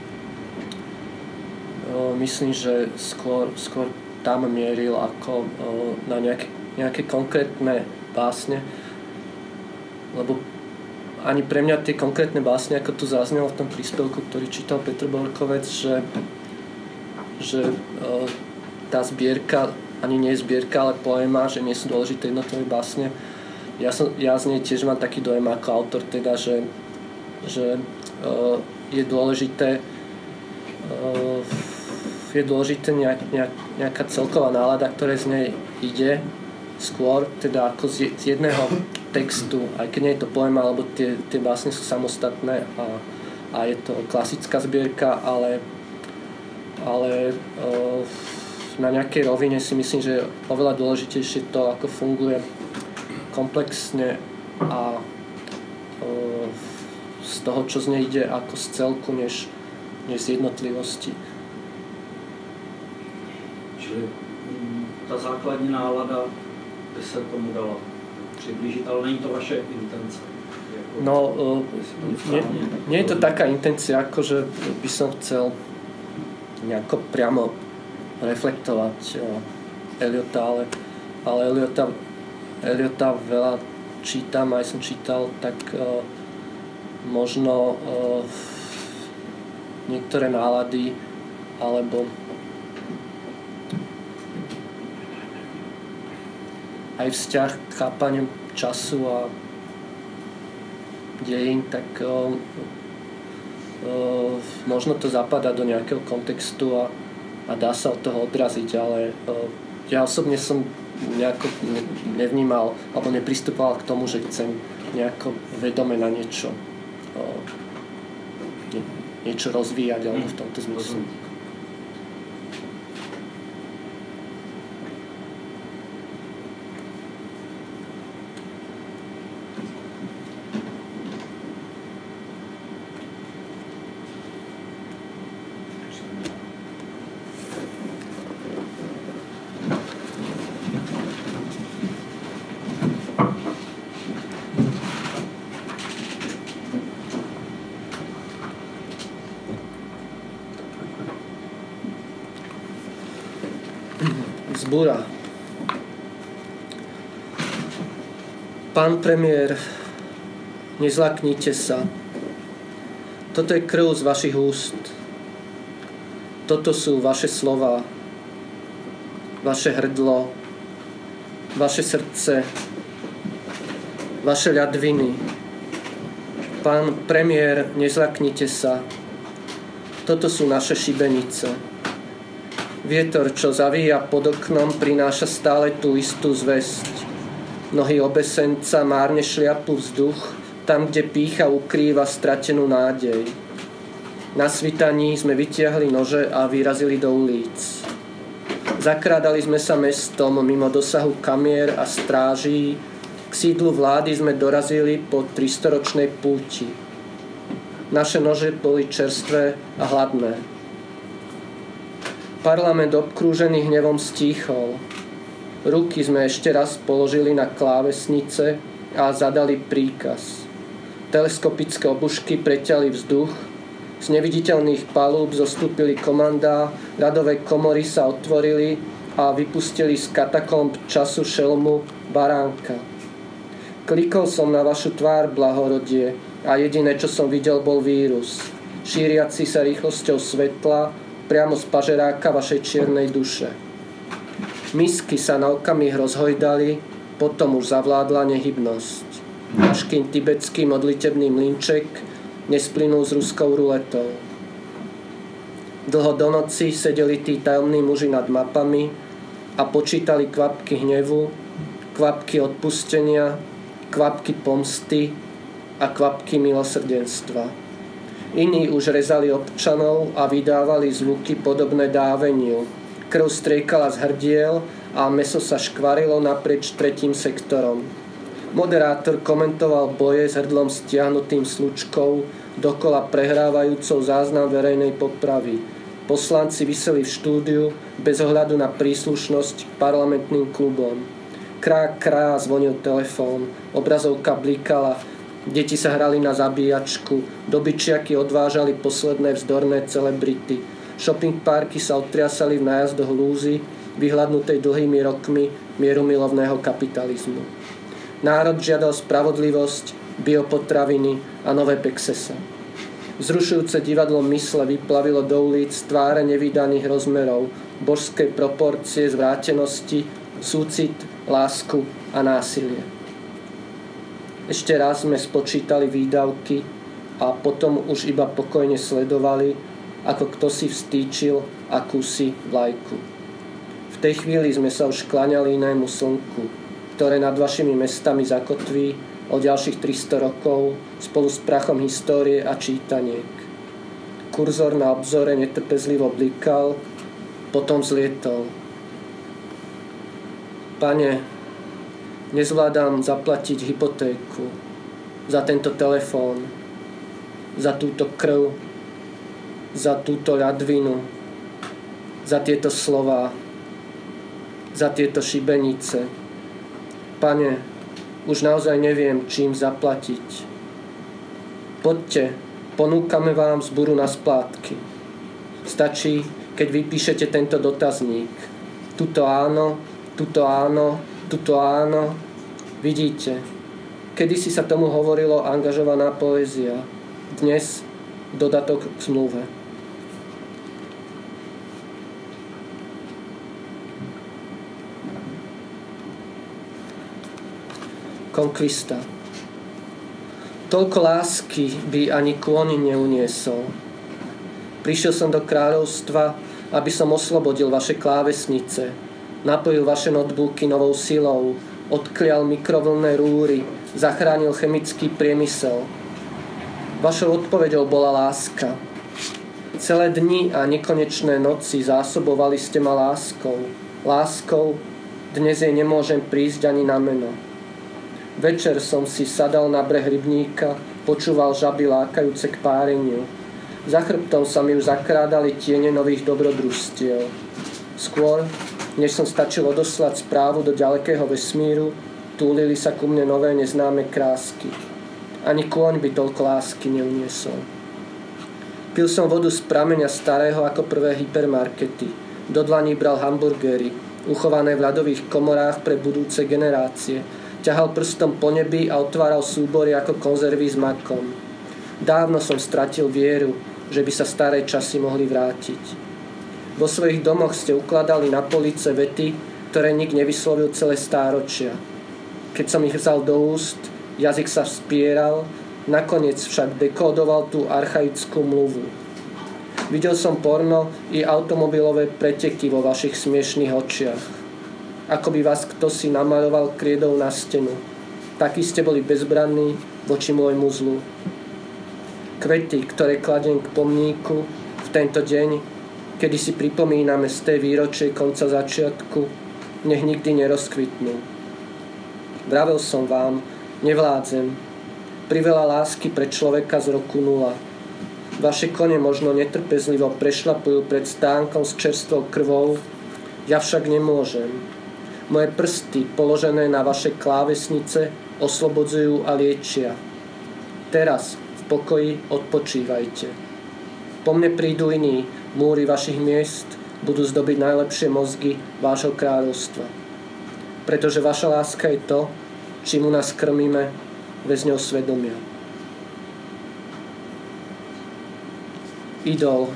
myslím, že skôr, skôr tam mieril ako na nejaké, nejaké konkrétne básne, lebo ani pre mňa tie konkrétne básne, ako tu zaznelo v tom príspevku, ktorý čítal Petr Borkovec, že, že tá zbierka ani nie je zbierka, ale poéma, že nie sú dôležité jednotlivé básne. Ja, som, ja z nej tiež mám taký dojem ako autor, teda, že, že uh, je dôležité uh, je dôležité nejak, nejak, nejaká celková nálada, ktorá z nej ide skôr, teda ako z, z jedného textu, aj keď nie je to poéma, alebo tie, tie básne sú samostatné a, a je to klasická zbierka, ale, ale uh, na nejakej rovine si myslím, že je oveľa dôležitejšie to, ako funguje komplexne a uh, z toho, čo z nej ide ako z celku, než, než z jednotlivosti. Čili ta základní nálada by se tomu dala přiblížit, ale není to vaše intence. Jako, no, uh, nie, nie je to taká intencia, ako že by som chcel nejako priamo reflektovať uh, Eliota, ale, ale Eliota, Eliota veľa čítam, aj som čítal, tak uh, možno uh, niektoré nálady alebo aj vzťah k chápaniu času a dejín, tak uh, uh, možno to zapadá do nejakého kontextu a, a dá sa od toho odraziť, ale uh, ja osobne som nejako nevnímal alebo nepristupoval k tomu, že chcem nejako vedome na niečo uh, nie, niečo rozvíjať alebo v tomto zmysle. Zbúra. Pán premiér, nezlaknite sa. Toto je krv z vašich úst. Toto sú vaše slová, vaše hrdlo, vaše srdce, vaše ľadviny. Pán premiér, nezlaknite sa. Toto sú naše šibenice. Vietor, čo zavíja pod oknom, prináša stále tú istú zvesť. Nohy obesenca márne šliapu vzduch, tam, kde pýcha ukrýva stratenú nádej. Na svitaní sme vytiahli nože a vyrazili do ulic. Zakrádali sme sa mestom mimo dosahu kamier a stráží. K sídlu vlády sme dorazili po tristoročnej púti. Naše nože boli čerstvé a hladné. Parlament obkrúžený hnevom stíchol. Ruky sme ešte raz položili na klávesnice a zadali príkaz. Teleskopické obušky preťali vzduch, z neviditeľných palúb zostúpili komandá, radové komory sa otvorili a vypustili z katakomb času šelmu baránka. Klikol som na vašu tvár, blahorodie, a jediné, čo som videl, bol vírus, šíriaci sa rýchlosťou svetla priamo z pažeráka vašej čiernej duše. Misky sa na okamih rozhojdali, potom už zavládla nehybnosť. Až kým tibetský modlitebný mlynček nesplynul s ruskou ruletou. Dlho do noci sedeli tí tajomní muži nad mapami a počítali kvapky hnevu, kvapky odpustenia, kvapky pomsty a kvapky milosrdenstva. Iní už rezali občanov a vydávali zvuky podobné dáveniu. Krv striekala z hrdiel a mäso sa škvarilo naprieč tretím sektorom. Moderátor komentoval boje s hrdlom stiahnutým slučkou, dokola prehrávajúcou záznam verejnej popravy. Poslanci viseli v štúdiu bez ohľadu na príslušnosť k parlamentným klubom. Krá, krá, zvonil telefón, obrazovka blikala, deti sa hrali na zabíjačku, dobyčiaky odvážali posledné vzdorné celebrity. Shopping parky sa otriasali v nájazdoch lúzy, vyhľadnutej dlhými rokmi mierumilovného kapitalizmu. Národ žiadal spravodlivosť, biopotraviny a nové pexesa. Vzrušujúce divadlo mysle vyplavilo do ulic tváre nevydaných rozmerov, božské proporcie, zvrátenosti, súcit, lásku a násilie. Ešte raz sme spočítali výdavky a potom už iba pokojne sledovali, ako kto si vstýčil akúsi vlajku. V tej chvíli sme sa už kláňali inému slnku, ktoré nad vašimi mestami zakotví o ďalších tristo rokov spolu s prachom histórie a čítaniek. Kurzor na obzore netrpezlivo blikal, potom zlietol. Pane, nezvládam zaplatiť hypotéku za tento telefón, za túto krv, za túto ľadvinu, za tieto slová, za tieto šibenice. Pane, už naozaj neviem, čím zaplatiť. Poďte, ponúkame vám zburu na splátky. Stačí, keď vypíšete tento dotazník. Tuto áno, tuto áno, tuto áno. Vidíte, kedysi sa tomu hovorilo angažovaná poézia. Dnes dodatok k zmluve. Konkvista. Toľko lásky by ani kôň neuniesol. Prišiel som do kráľovstva, aby som oslobodil vaše klávesnice, napojil vaše notebooky novou silou, odklial mikrovlnné rúry, zachránil chemický priemysel. Vašou odpoveďou bola láska. Celé dni a nekonečné noci zásobovali ste ma láskou. Láskou, dnes jej nemôžem prísť ani na meno. Večer som si sadal na breh rybníka, počúval žaby lákajúce k páreniu. Za chrbtom sa mi už zakrádali tiene nových dobrodružstiev. Skôr, než som stačil odoslať správu do ďalekého vesmíru, túlili sa ku mne nové neznáme krásky. Ani kôň by toľko lásky neuniesol. Pil som vodu z prameňa starého ako prvé hypermarkety. Do dlaní bral hamburgery, uchované v ľadových komorách pre budúce generácie. Ťahal prstom po nebi a otváral súbory ako konzervy s makom. Dávno som stratil vieru, že by sa staré časy mohli vrátiť. Vo svojich domoch ste ukladali na police vety, ktoré nik nevyslovil celé stáročia. Keď som ich vzal do úst, jazyk sa vspieral, nakoniec však dekódoval tú archaickú mluvu. Videl som porno i automobilové preteky vo vašich smiešných očiach. Ako by vás ktosi namaľoval kriedou na stenu. Takí ste boli bezbranní voči môjmu zlu. Kvety, ktoré kladiem k pomníku v tento deň, kedy si pripomíname z tej výročie konca začiatku, nech nikdy nerozkvitnú. Vravel som vám, nevládzem. Priveľa lásky pre človeka z roku nula. Vaše kone možno netrpezlivo prešlapujú pred stánkom s čerstvou krvou, ja však nemôžem. Moje prsty, položené na vaše klávesnice, oslobodzujú a liečia. Teraz v pokoji odpočívajte. Po mne prídu iní, múry vašich miest budú zdobiť najlepšie mozgy vášho kráľovstva. Pretože vaša láska je to, čím u nás krmíme väzňov svedomia. Idol.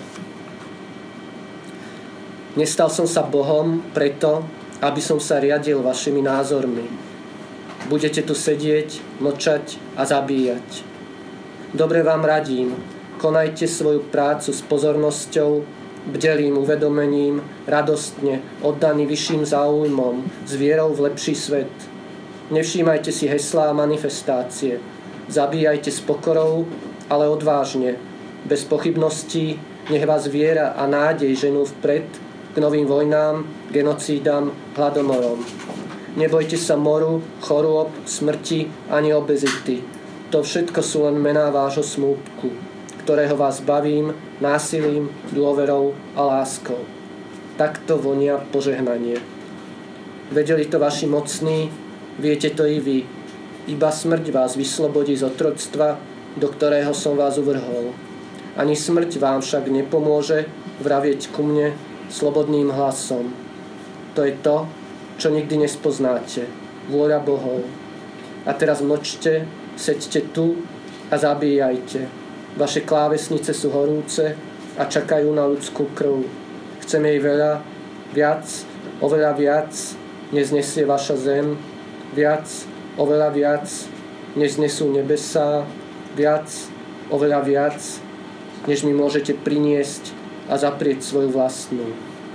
Nestal som sa Bohom preto, aby som sa riadil vašimi názormi. Budete tu sedieť, mlčať a zabíjať. Dobre vám radím, konajte svoju prácu s pozornosťou, bdelým uvedomením, radostne, oddaný vyšším záujmom, s vierou v lepší svet. Nevšímajte si heslá a manifestácie. Zabíjajte s pokorou, ale odvážne. Bez pochybností, nech vás viera a nádej ženú vpred k novým vojnám, genocídam, hladomorom. Nebojte sa moru, chorôb, smrti ani obezity. To všetko sú len mená vášho smútku, ktorého vás bavím násilím, dôverou a láskou. Takto vonia požehnanie. Vedeli to vaši mocní, viete to i vy. Iba smrť vás vyslobodí z otroctva, do ktorého som vás uvrhol. Ani smrť vám však nepomôže vravieť ku mne slobodným hlasom. To je to, čo nikdy nespoznáte. Vôľa Bohov. A teraz mlčte, seďte tu a zabíjajte. Vaše klávesnice sú horúce a čakajú na ľudskú krv. Chcem jej veľa, viac, oveľa viac, než znesie vaša zem. Viac, oveľa viac, než znesú nebesá. Viac, oveľa viac, než mi môžete priniesť a zaprieť svoju vlastnú.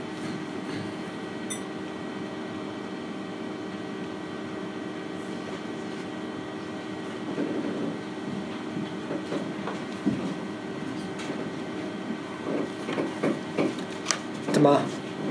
Tma.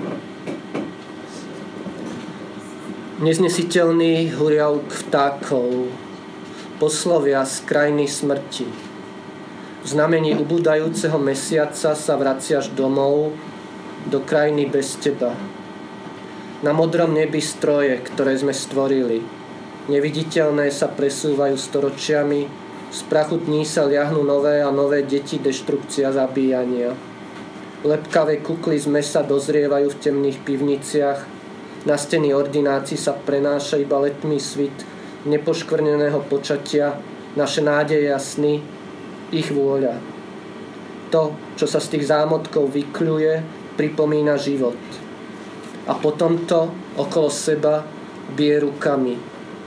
Neznesiteľný huriavk vtákov, poslovia z krajiny smrti. V znamení ubúdajúceho mesiaca sa vraciaš domov do krajiny bez teba. Na modrom nebi stroje, ktoré sme stvorili. Neviditeľné sa presúvajú storočiami, z prachu dní sa liahnú nové a nové deti deštrukcia zabíjania. Lepkavé kukly z mesa dozrievajú v temných pivniciach, na steny ordinácií sa prenáša iba letmý svit nepoškvrneného počatia, naše nádeje a sny, ich vôľa. To, čo sa z tých zámotkov vykľuje, pripomína život. A potom to okolo seba bije rukami.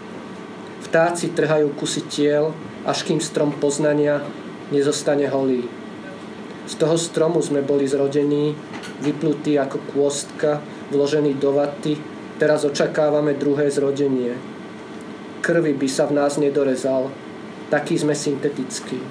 Vtáci trhajú kusy tiel, až kým strom poznania nezostane holý. Z toho stromu sme boli zrodení, vyplutí ako kôstka, vložení do vaty, teraz očakávame druhé zrodenie. Krvi by sa v nás nedorezal, taký sme syntetickí.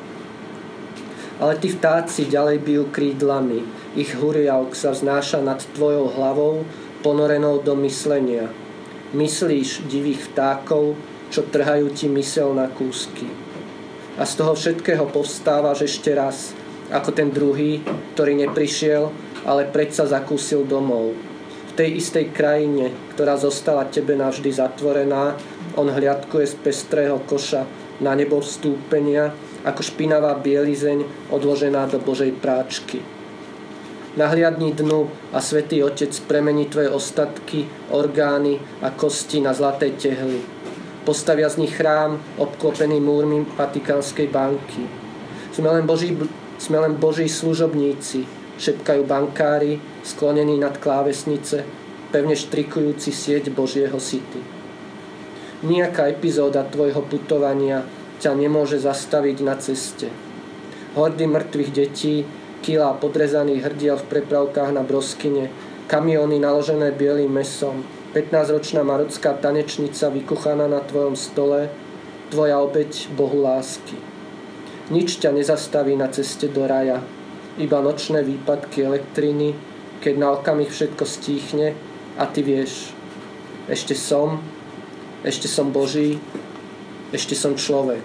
Ale tí vtáci ďalej bijú krídlami, ich huriavk sa vznáša nad tvojou hlavou, ponorenou do myslenia. Myslíš divých vtákov, čo trhajú ti myseľ na kúsky. A z toho všetkého povstávaš ešte raz, ako ten druhý, ktorý neprišiel, ale predsa zakúsil domov. V tej istej krajine, ktorá zostala tebe navždy zatvorená, on hliadkuje z pestrého koša na nebo vstúpenia, ako špinavá bielizeň odložená do Božej práčky. Nahliadni dnu a Svätý Otec premení tvoje ostatky, orgány a kosti na zlaté tehly. Postavia z nich chrám, obklopený múrmi Vatikánskej banky. Sme len Boží Sme len Boží služobníci, šepkajú bankári, sklonení nad klávesnice, pevne štrikujúci sieť Božieho syty. Nijaká epizóda tvojho putovania ťa nemôže zastaviť na ceste. Hordy mŕtvych detí, kilá podrezaných hrdiel v prepravkách na broskyne, kamióny naložené bielým mesom, pätnásťročná marocká tanečnica vykuchaná na tvojom stole, tvoja obeť Bohu lásky. Nič ťa nezastaví na ceste do raja, iba nočné výpadky elektriny, keď na okamih všetko stíchne a ty vieš, ešte som, ešte som Boží, ešte som človek.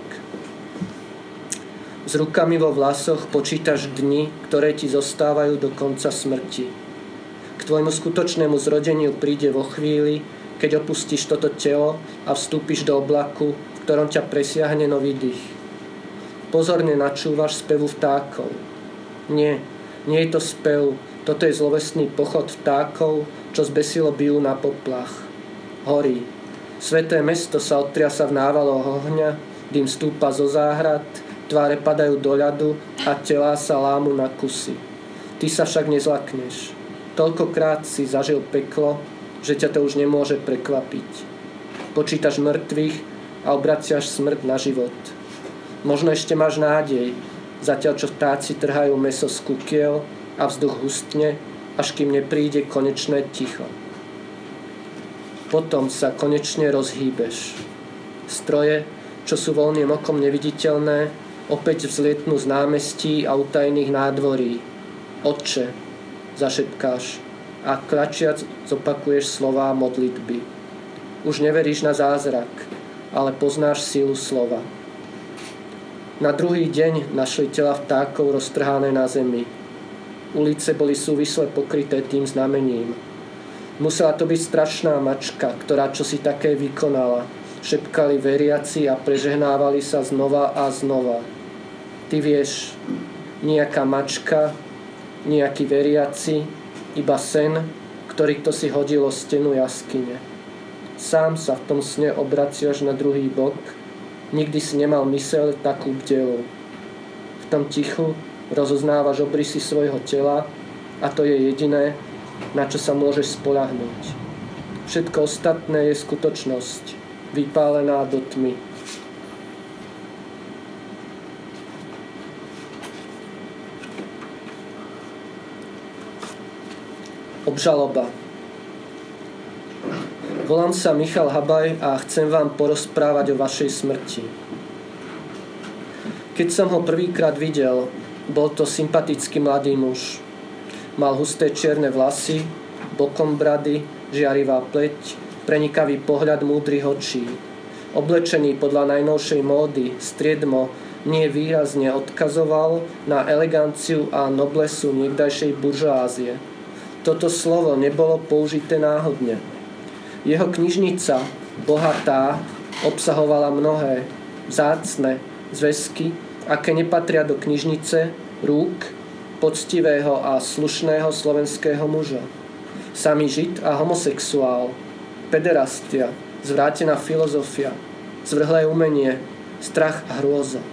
S rukami vo vlasoch počítaš dni, ktoré ti zostávajú do konca smrti. K tvojmu skutočnému zrodeniu príde vo chvíli, keď opustíš toto telo a vstúpiš do oblaku, v ktorom ťa presiahne nový dých. Pozorne načúvaš spevu vtákov. Nie, nie je to spev, toto je zlovestný pochod vtákov, čo zbesilo bijú na poplach. Horí. Sveté mesto sa otriasa v návaloch ohňa, dým stúpa zo záhrad, tváre padajú do ľadu a telá sa lámu na kusy. Ty sa však nezlakneš. Toľkokrát si zažil peklo, že ťa to už nemôže prekvapiť. Počítaš mŕtvych a obraciaš smrť na život. Možno ešte máš nádej, zatiaľ čo vtáci trhajú mäso z kukiel a vzduch hustne, až kým nepríde konečné ticho. Potom sa konečne rozhýbeš. Stroje, čo sú voľným okom neviditeľné, opäť vzlietnú z námestí a utajných nádvorí. Otče, zašepkáš a kračiac zopakuješ slová modlitby. Už neveríš na zázrak, ale poznáš sílu slova. Na druhý deň našli tela vtákov roztrhané na zemi. Ulice boli súvisle pokryté tým znamením. Musela to byť strašná mačka, ktorá čosi také vykonala. Šepkali veriaci a prežehnávali sa znova a znova. Ty vieš, nejaká mačka, nejaký veriaci, iba sen, ktorý kto si hodil o stenu jaskyne. Sám sa v tom sne obraciaš na druhý bok, nikdy si nemal myseľ takú bdelú. V tom tichu rozoznávaš obrysy svojho tela a to je jediné, na čo sa môžeš spoľahnúť. Všetko ostatné je skutočnosť, vypálená do tmy. Obžaloba. Volám sa Michal Habaj a chcem vám porozprávať o vašej smrti. Keď som ho prvýkrát videl, bol to sympatický mladý muž. Mal husté čierne vlasy, bokom brady, žiarivá pleť, prenikavý pohľad múdrych očí. Oblečený podľa najnovšej módy, striedmo nie výrazne odkazoval na eleganciu a noblesu niekdajšej buržoázie. Toto slovo nebolo použité náhodne. Jeho knižnica, bohatá, obsahovala mnohé vzácne zväzky, aké nepatria do knižnice rúk poctivého a slušného slovenského muža. Samý žid a homosexuál, pederastia, zvrátená filozofia, zvrhlé umenie, strach a hrôza.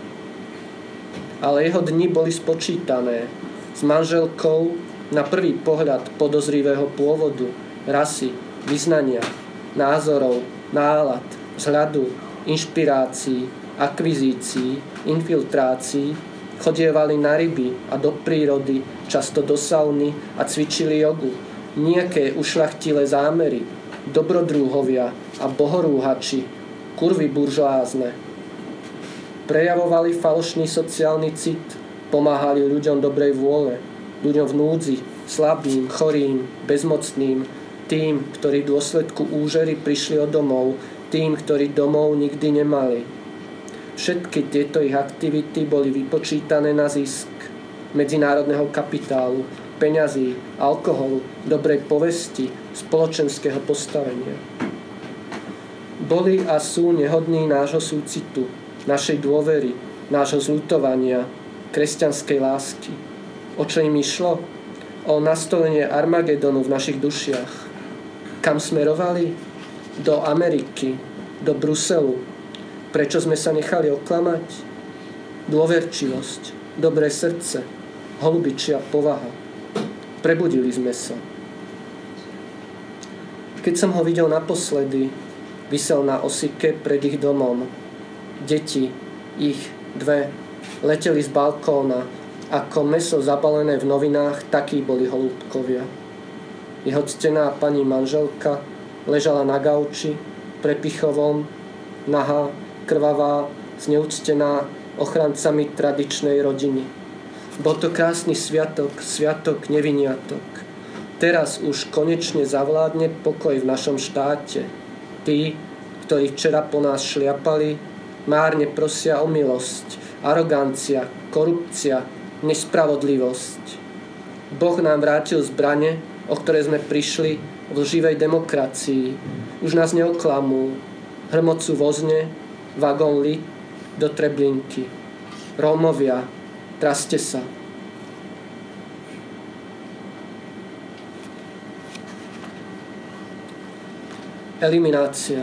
Ale jeho dni boli spočítané. S manželkou na prvý pohľad podozrivého pôvodu, rasy, vyznania, názorov, nálad, vzhľadu, inšpirácií, akvizícií, infiltrácií, chodievali na ryby a do prírody, často do sauny a cvičili jogu. Nejaké ušľachtilé zámery, dobrodruhovia a bohorúhači, kurvy buržoázne. Prejavovali falošný sociálny cit, pomáhali ľuďom dobrej vôle, ľuďom v núdzi, slabým, chorým, bezmocným, tým, ktorí v dôsledku úžery prišli od domov, tým, ktorí domov nikdy nemali. Všetky tieto ich aktivity boli vypočítané na zisk medzinárodného kapitálu, peňazí, alkoholu, dobrej povesti, spoločenského postavenia. Boli a sú nehodní nášho súcitu, našej dôvery, nášho zľutovania, kresťanskej lásky. O čo im išlo? O nastolenie Armagedonu v našich dušiach. Kam smerovali? Do Ameriky, do Bruselu. Prečo sme sa nechali oklamať? Dôverčivosť, dobré srdce, holubičia povaha. Prebudili sme sa. Keď som ho videl naposledy, visel na osike pred ich domom. Deti, ich dve, leteli z balkóna. Ako mäso zabalené v novinách, takí boli holúbkovia. Jeho ctená pani manželka ležala na gauči, prepichovom, nahá, krvavá, zneúctená ochrancami tradičnej rodiny. Bol to krásny sviatok, sviatok neviniatok. Teraz už konečne zavládne pokoj v našom štáte. Tí, ktorí včera po nás šliapali, márne prosia o milosť, arogancia, korupcia, nespravodlivosť. Boh nám vrátil zbrane, o ktoré sme prišli v lživej demokracii. Už nás neoklamú. Hrmocú vozne, vagón lit do Treblinky. Rómovia, traste sa. Eliminácia.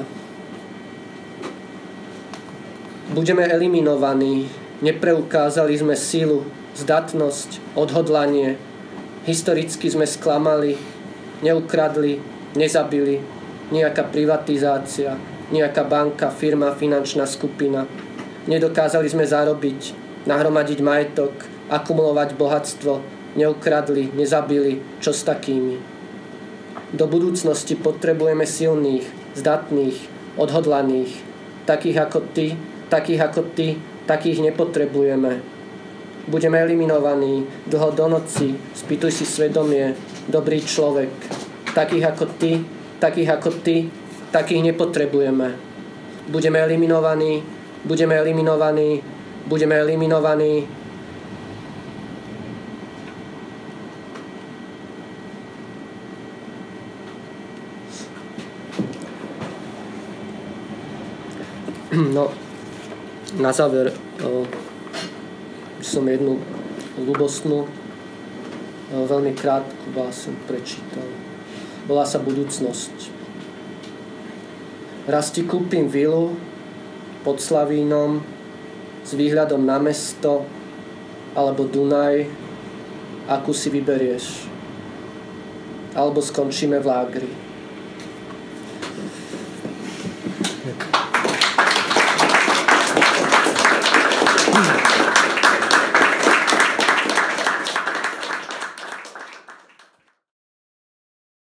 Budeme eliminovaní. Nepreukázali sme silu, zdatnosť, odhodlanie. Historicky sme sklamali, neukradli, nezabili. Nejaká privatizácia, nejaká banka, firma, finančná skupina. Nedokázali sme zarobiť, nahromadiť majetok, akumulovať bohatstvo. Neukradli, nezabili. Čo s takými? Do budúcnosti potrebujeme silných, zdatných, odhodlaných. Takých ako ty, takých ako ty, takých nepotrebujeme. Budeme eliminovaní, dlho do noci, spýtuj si svedomie, dobrý človek. Takých ako ty, takých ako ty, takých nepotrebujeme. Budeme eliminovaní, budeme eliminovaní, budeme eliminovaní. No, na záver o, som jednu ľubostnú, o, veľmi krátku báseň prečítal. Volá sa Budúcnosť. Raz ti kúpim vilu pod Slavínom s výhľadom na mesto alebo Dunaj, akú si vyberieš. Alebo skončíme v lágri. Hmm.